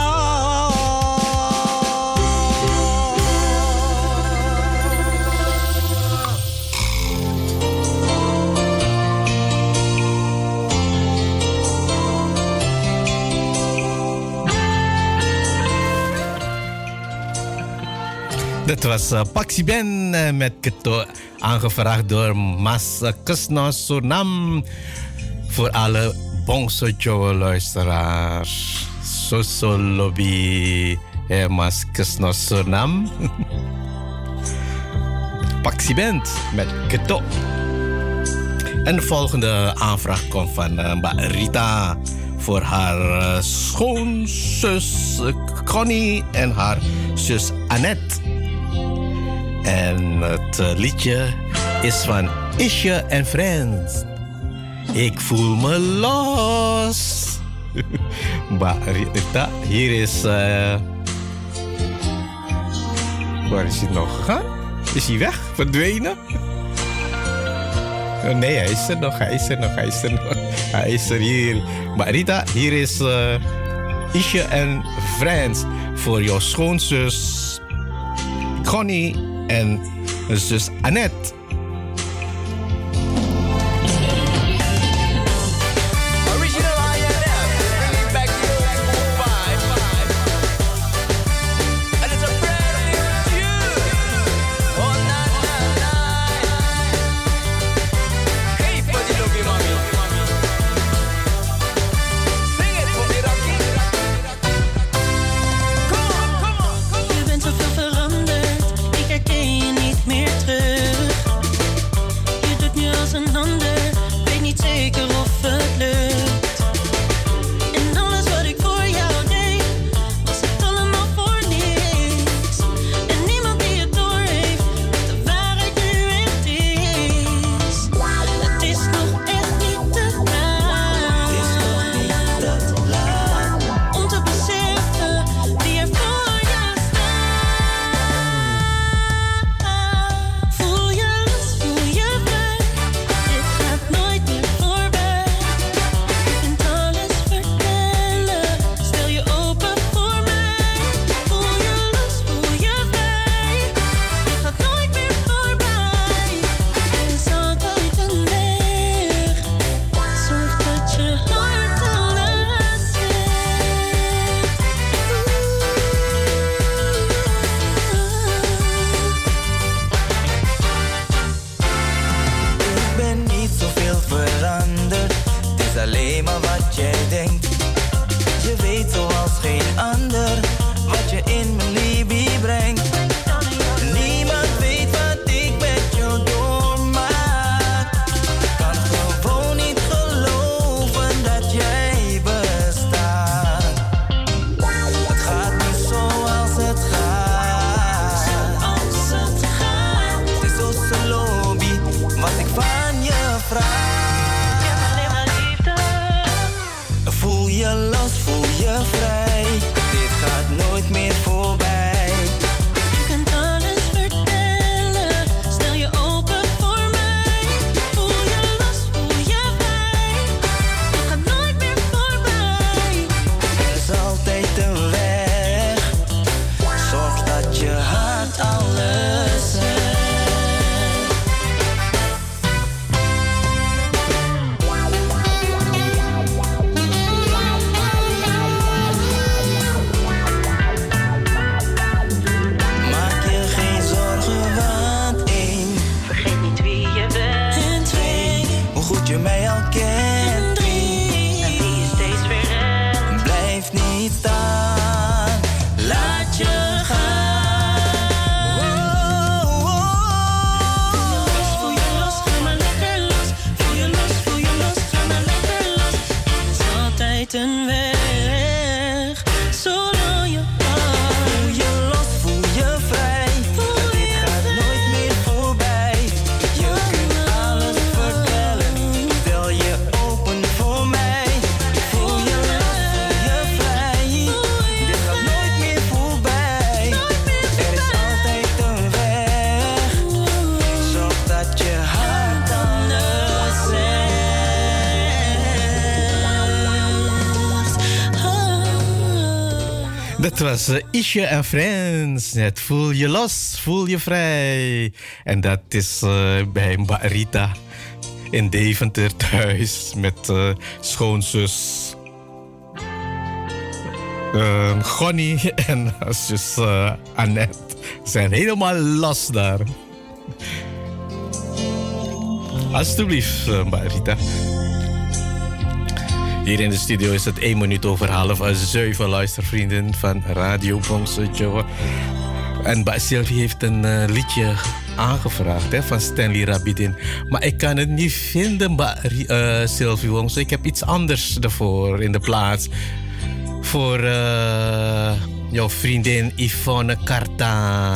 Dat was uh, Paxi Ben uh, met Keto, aangevraagd door Mas uh, Kusno Sonam. Voor alle Bongso Joe luisteraars. Soso lobby eh, Mas Kusno Sonam. Paxi Ben met Keto. En de volgende aanvraag komt van uh, Mbak Rita. Voor haar uh, schoonzus uh, Connie en haar zus Annette. En het uh, liedje is van Isje en Friends. Ik voel me los. Mbak Rita, hier is... Uh... Waar is hij nog gegaan? Is hij weg? Verdwenen? Oh, nee, hij is er nog, hij is er nog, hij is er nog. Hij is er hier. Mbak Rita, hier is uh, Isje en Friends. Voor jouw schoonzus Connie en zus Annette. Je bent zoveel veranderd, ik herken je niet meer terug. Dat was uh, Isha en Friends. Net voel je los, voel je vrij. En dat is uh, bij Mba Rita in Deventer thuis met uh, schoonzus uh, Gonnie en zus uh, Annette. Zijn helemaal los daar. Alsjeblieft, uh, Mba Rita. Hier in de studio is het één minuut over half zeven, luistervrienden van Radio Bongso Jowo. En Ba Sylvie heeft een uh, liedje aangevraagd hè, van Stanley Rabidin. Maar ik kan het niet vinden, Ba uh, Sylvie Bongso. Ik heb iets anders ervoor in de plaats. Voor uh, jouw vriendin Yvonne Carta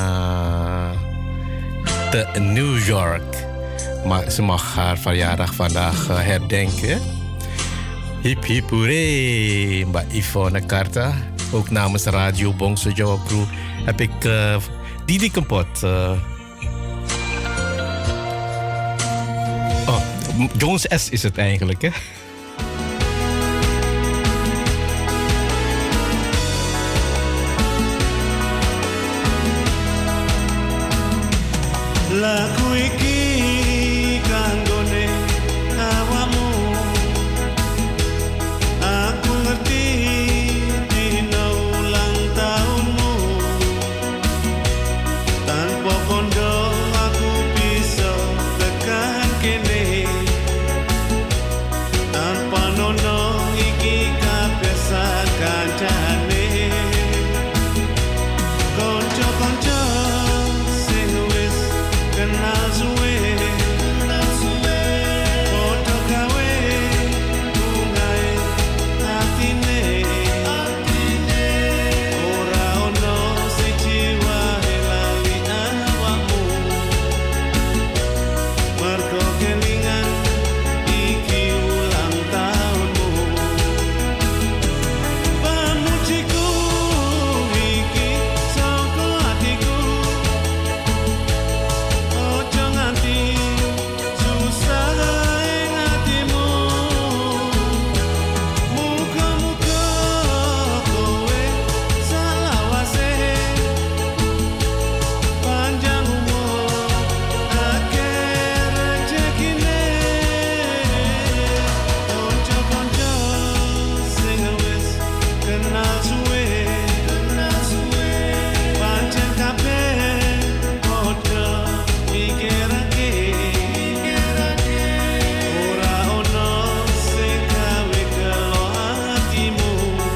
te New York. Maar ze mag haar verjaardag vandaag uh, herdenken. Hip hip hoeré, Mbak Yvonne Carta. Ook namens Radio Bongso Jowo Crew heb ik uh, Didi Kempot. Uh... Oh, Jones S is het eigenlijk, hè? Lagu iki kanggone awamu. Aku ngerti dina ulang tahunmu. Tanpa kondo aku bisa tekan kene. Tanpa nono iki kabeh sak kancane. Konco-konco sing wis kenal suwe. Podo gawe bungae atine. Ora ono siji wae lali awakmu. Mergo kelingan iki ulang tahunmu. Pamujiku iki saka atiku. Ojo nganti susah ing atimu. Muga-muga kowe selawase. Panjang umur akeh rejekine. Konco-konco sing wis kenal suwe. Pancen kabeh padha mikirake. Ora ono sing gawe gelo atimu.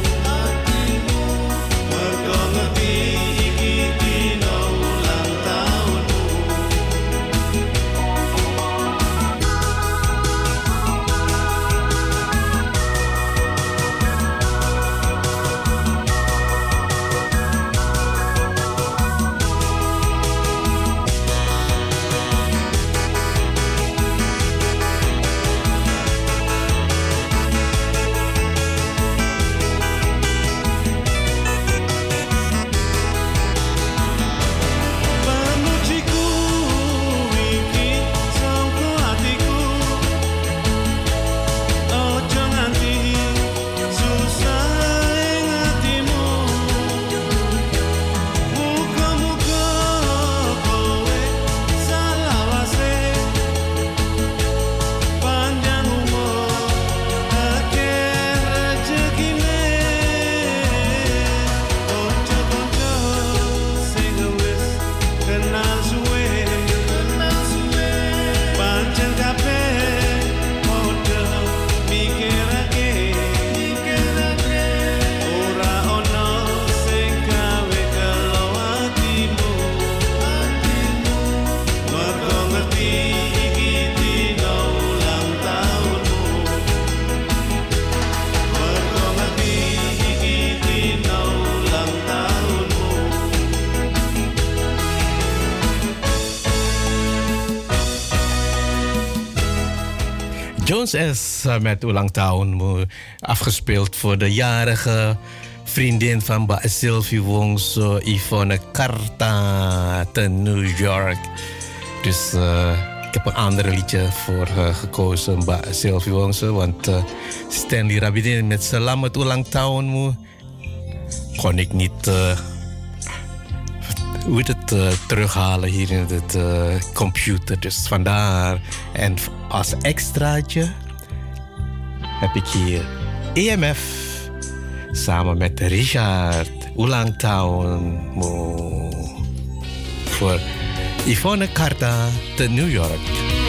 Mergo ngerti iki dina ulang tahunmu. Pamujiku iki saka atiku. Ojo nganti susah ing atimu. Muga-muga kowe selawase. Panjang umur akeh rejekine. Konco-konco sing wis kenal suwe. Pancen kabeh padha mikirake. Ora ono sing gawe gelo atimu. Mergo ngerti iki dina ulang tahunmu. Mergo ngerti iki dina ulang tahunmu. Jones S. met ulang tahunmu. Afgespeeld voor de jarige vriendin van Ba Sylvie Bongso, Yvonne Carta te New York. Dus uh, ik heb een ander liedje voor uh, gekozen, Ba Sylvie Bongso. Want uh, Stanley Rabidin met Selamat ulang tahunmu. kon ik niet uh, hoe heet het, uh, terughalen hier in de uh, computer. Dus vandaar. En als extraatje heb ik hier E M F samen met Richard Ulang Town voor Yvonne Carta te New York.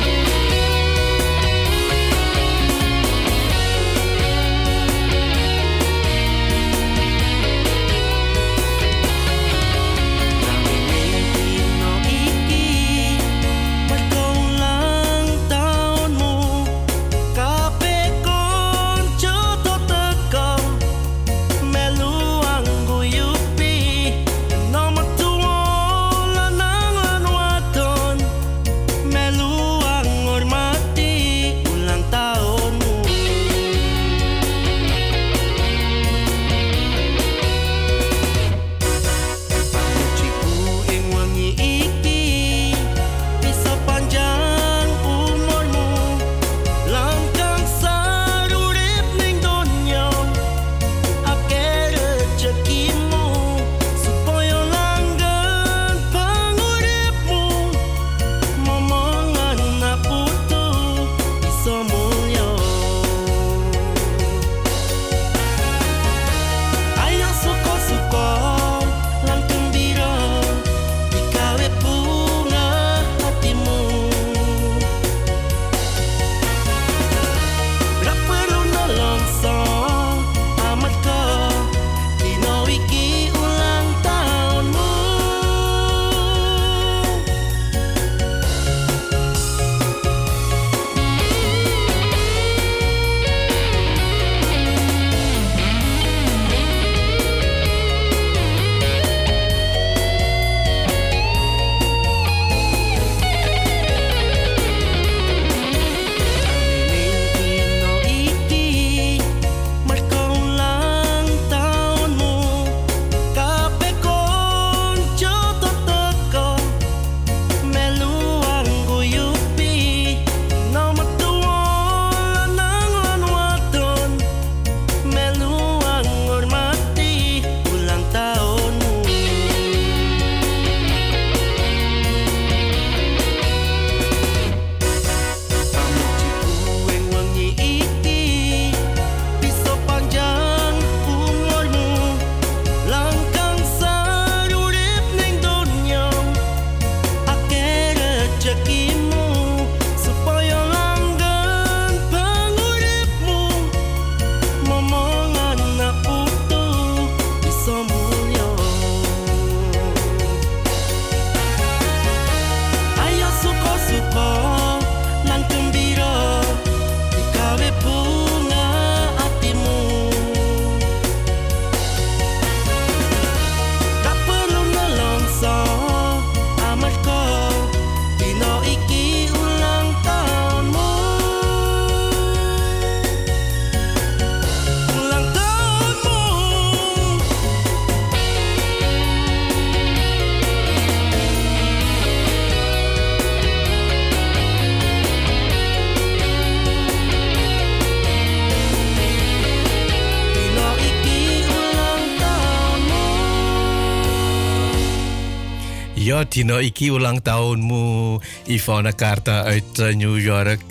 Ja, Tino, iki ulang tahunmu, Yvonne Carta uit uh, New York.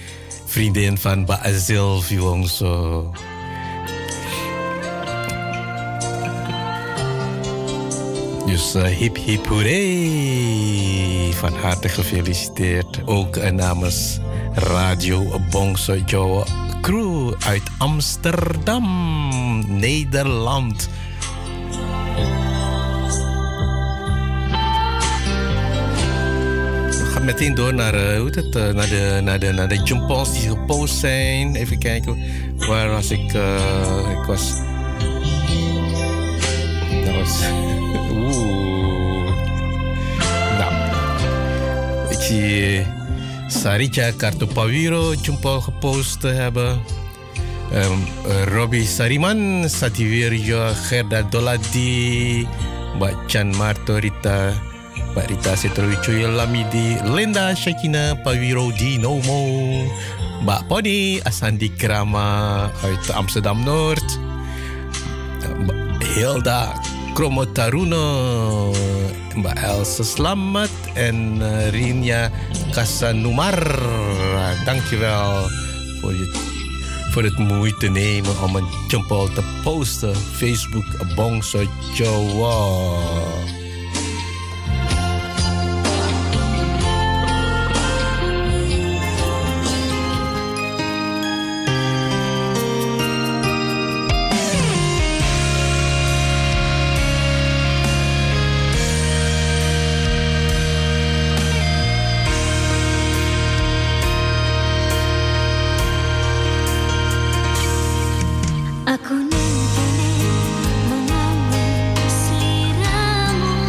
Vriendin van Baazil Viwongso. Dus uh, hip hip hooray. Van harte gefeliciteerd. Ook uh, namens Radio Bongso Jawa Crew uit Amsterdam, Nederland. We gaan meteen door naar, uh, hoe het, uh, naar de, naar de, naar de jumpons die gepost zijn. Even kijken, waar was ik? Uh, ik was... Dat was... Oeh. Nou. Ik zie Sarija Kartopawiro jumpo gepost te hebben. Um, uh, Robbie Sariman, Sativirjo, Gerda Doladi, Mbak Chan Martorita, Mbak Rita Setrowicoyo Lamidi, Linda Shakina Pawiro Dinomo, Mbak Pony Asandi Krama uit Amsterdam Noord, Hilda Kromotaruno, Mbak Elsa Slamet en uh, Rinia Kasanumar. Dankjewel voor, je, voor het moeite nemen om een jempol te posten. Facebook Bongso Jawa. Aku nenteni menganggap seliramu.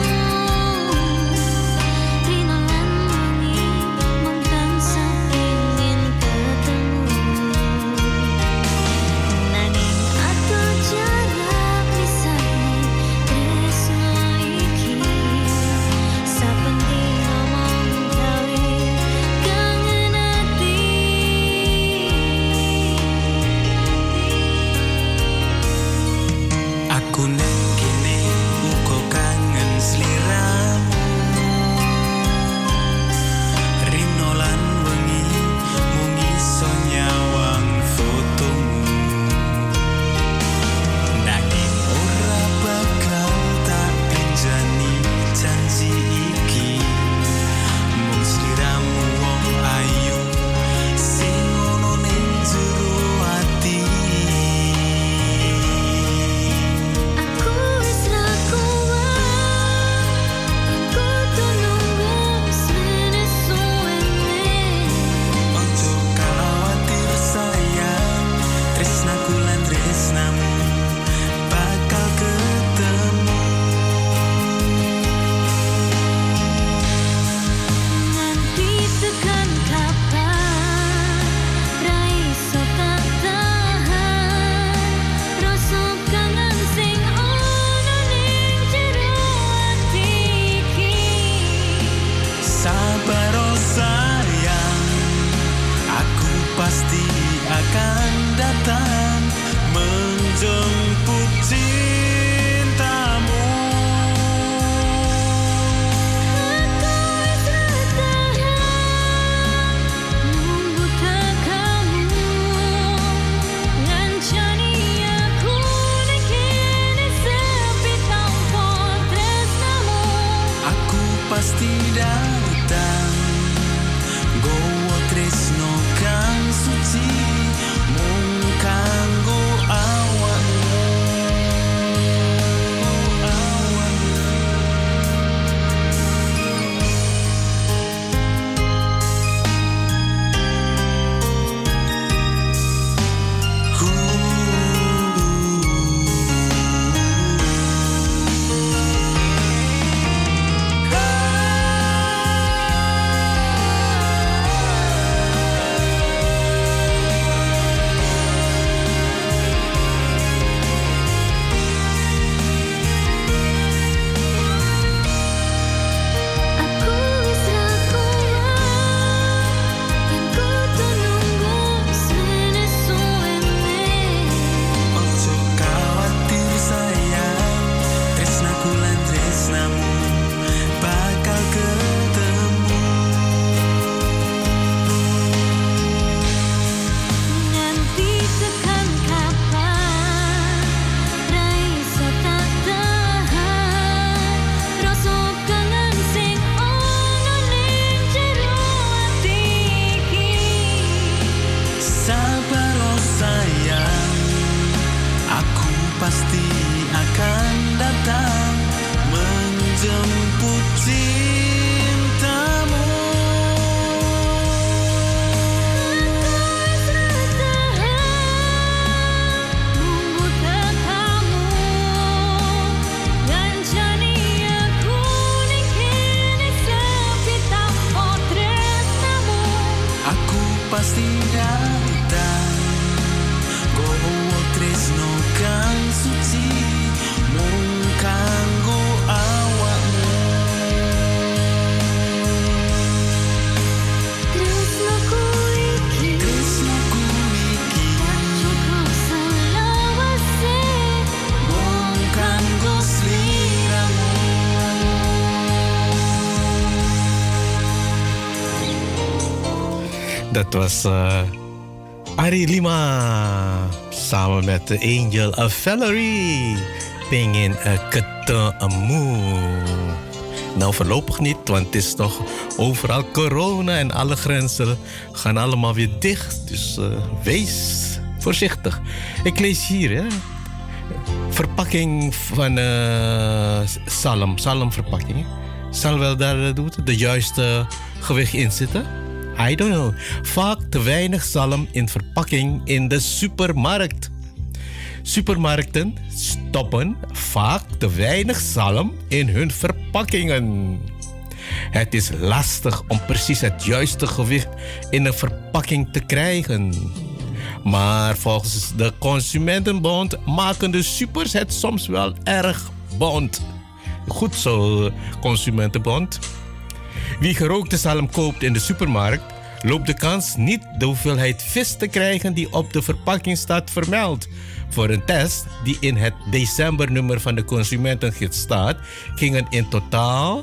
dat was uh, Ari Lima samen met de Angel of Valerie. Pingin een ketan amour. Nou, voorlopig niet, want het is toch overal corona en alle grenzen gaan allemaal weer dicht. Dus uh, wees voorzichtig. Ik lees hier, hè. Verpakking van uh, salm, salmverpakking. Zal wel daar de juiste gewicht in zitten? I don't know. Vaak te weinig zalm in verpakking in de supermarkt. Supermarkten stoppen vaak te weinig zalm in hun verpakkingen. Het is lastig om precies het juiste gewicht in een verpakking te krijgen. Maar volgens de Consumentenbond maken de supers het soms wel erg bond. Goed zo, Consumentenbond. Wie gerookte zalm koopt in de supermarkt, loopt de kans niet de hoeveelheid vis te krijgen die op de verpakking staat vermeld. Voor een test die in het decembernummer van de Consumentengids staat, gingen in totaal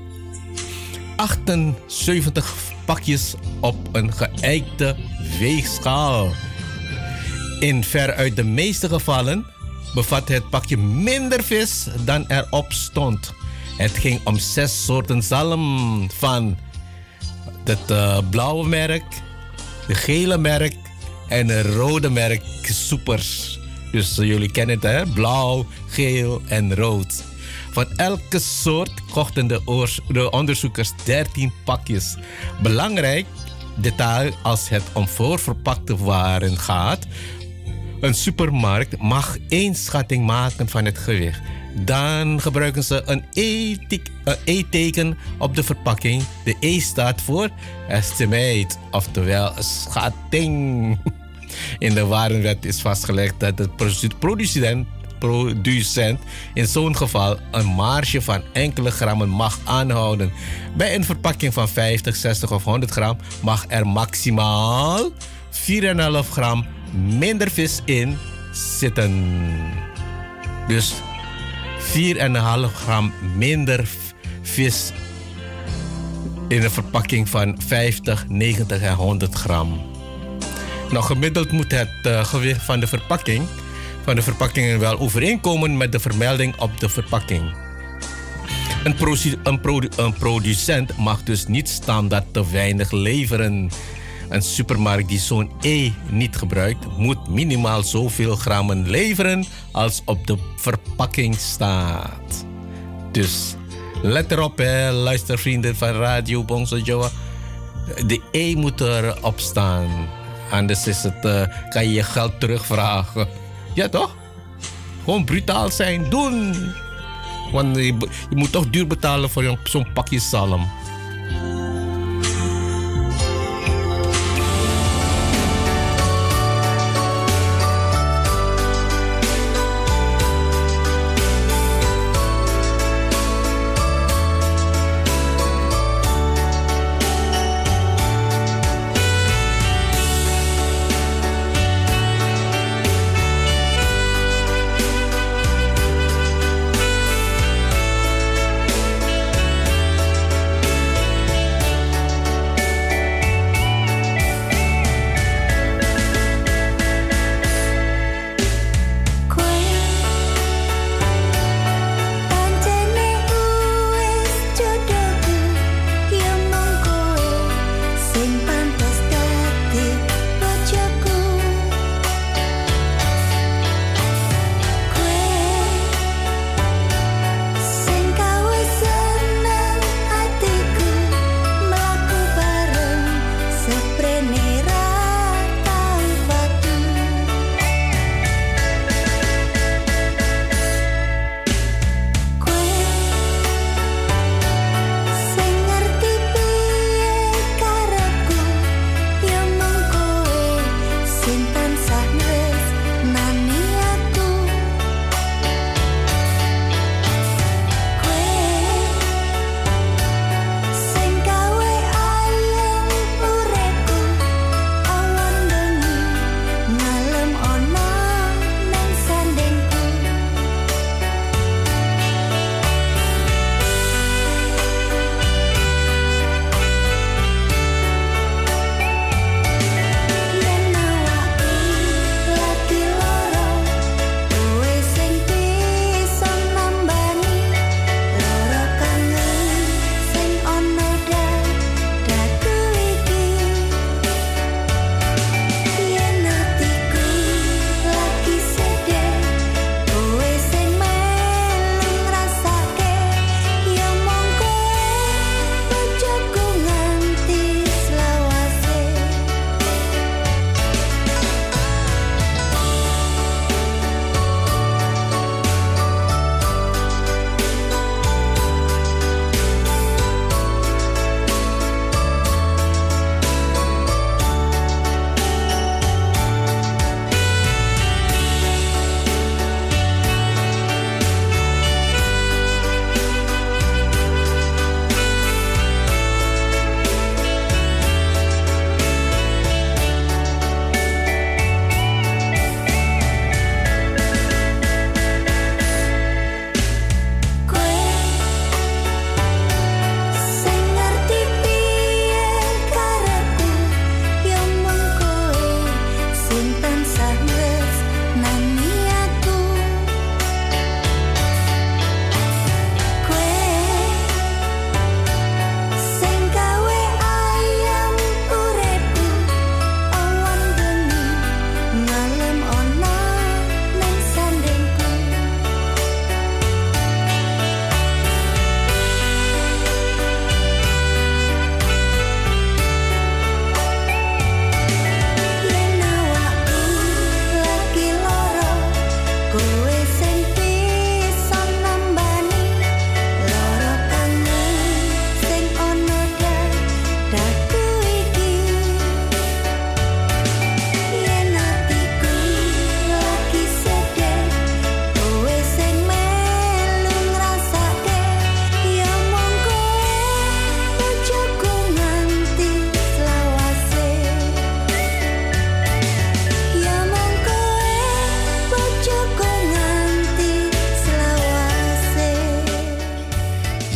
achtenzeventig pakjes op een geëikte weegschaal. In veruit de meeste gevallen bevat het pakje minder vis dan erop stond. Het ging om zes soorten zalm van het uh, blauwe merk, de gele merk en een rode merk soepers. Dus uh, jullie kennen het, hè? Blauw, geel en rood. Van elke soort kochten de, oors- de onderzoekers dertien pakjes. Belangrijk detail als het om voorverpakte waren gaat. Een supermarkt mag één schatting maken van het gewicht. Dan gebruiken ze een E-teken op de verpakking. De E staat voor estimate, oftewel schatting. In de warenwet is vastgelegd dat de producent, producent in zo'n geval een marge van enkele grammen mag aanhouden. Bij een verpakking van vijftig, zestig of honderd gram mag er maximaal vier komma vijf gram minder vis in zitten. Dus vier komma vijf gram minder vis in een verpakking van vijftig, negentig en honderd gram. Nou, gemiddeld moet het uh, gewicht van de verpakking van de verpakkingen wel overeenkomen met de vermelding op de verpakking. Een, produ- een, produ- een producent mag dus niet standaard te weinig leveren. Een supermarkt die zo'n E niet gebruikt, moet minimaal zoveel grammen leveren als op de verpakking staat. Dus let erop, hè, luistervrienden van Radio Bongso Joa. De E moet erop staan. Anders is het, uh, kan je je geld terugvragen. Ja, toch? Gewoon brutaal zijn. Doen! Want je, je moet toch duur betalen voor zo'n pakje zalm.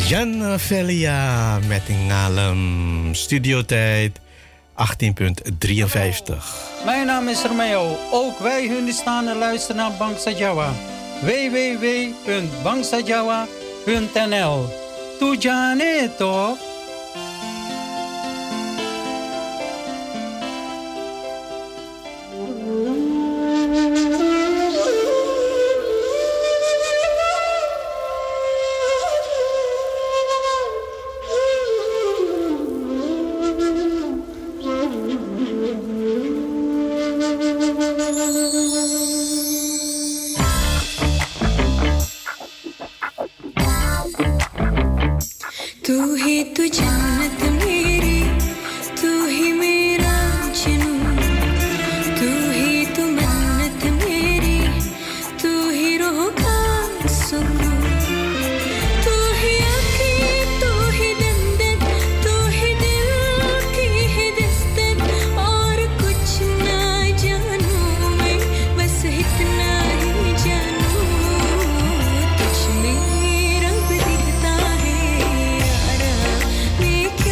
Jan Velia met een alem studiotijd achttien drieënvijftig. Mijn naam is Romeo. Ook wij Hindustanen luisteren naar Bangsa Jawa. w w w punt bangsa jawa punt n l. Tu jane to? Make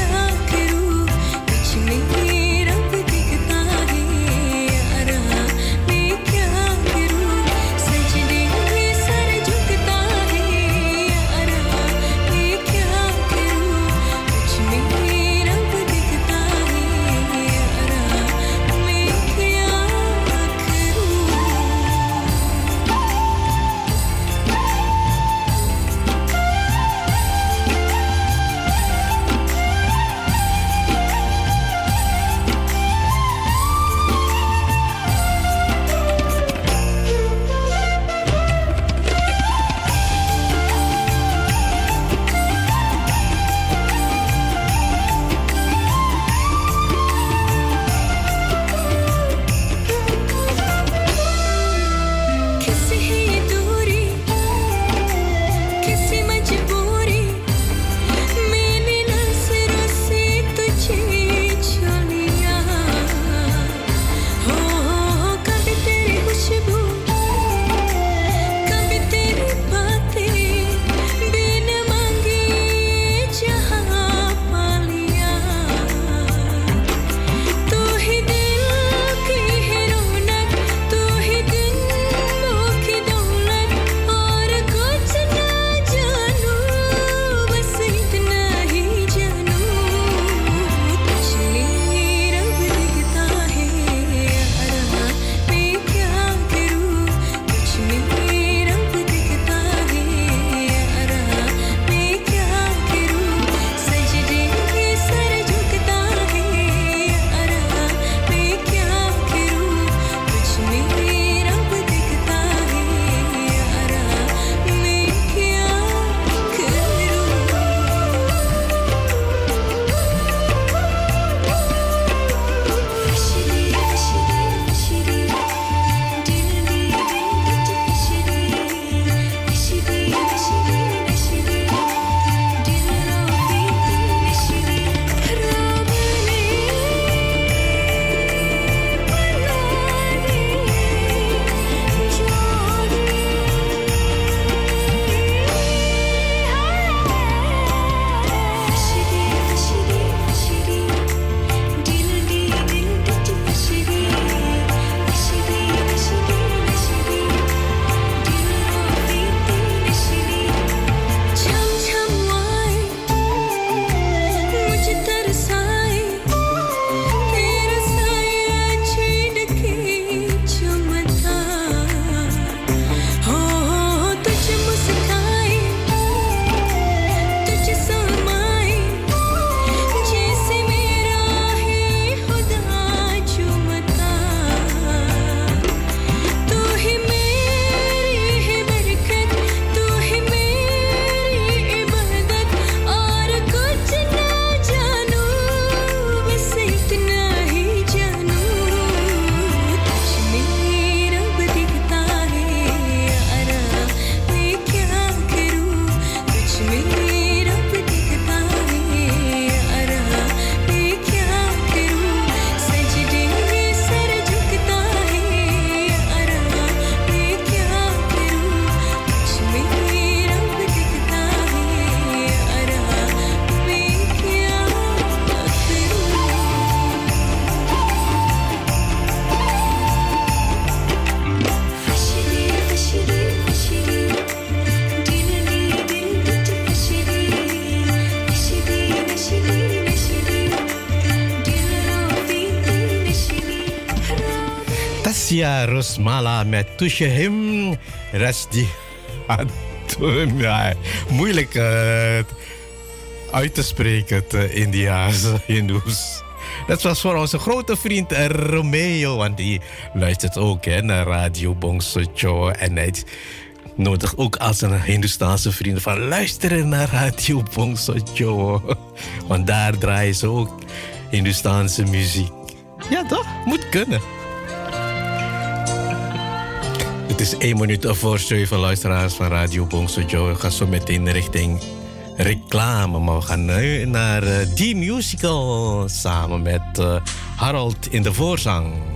Asia Rosmala met Tushehim Rasdi. Ja, moeilijk uh, uit te spreken, het uh, Indiaanse Hindoes. Dat was voor onze grote vriend uh, Romeo, want die luistert ook hè, naar Radio Bongsojo. En hij nodigt ook als een Hindoestaanse vriend van luisteren naar Radio Bongsojo. Want daar draaien ze ook Hindoestaanse muziek. Ja toch? Moet kunnen. Het is één minuut voor zeven, luisteraars van Radio Bongsojo. We gaan zo meteen richting reclame. Maar we gaan nu naar uh, The Musical samen met uh, Harold in de voorzang.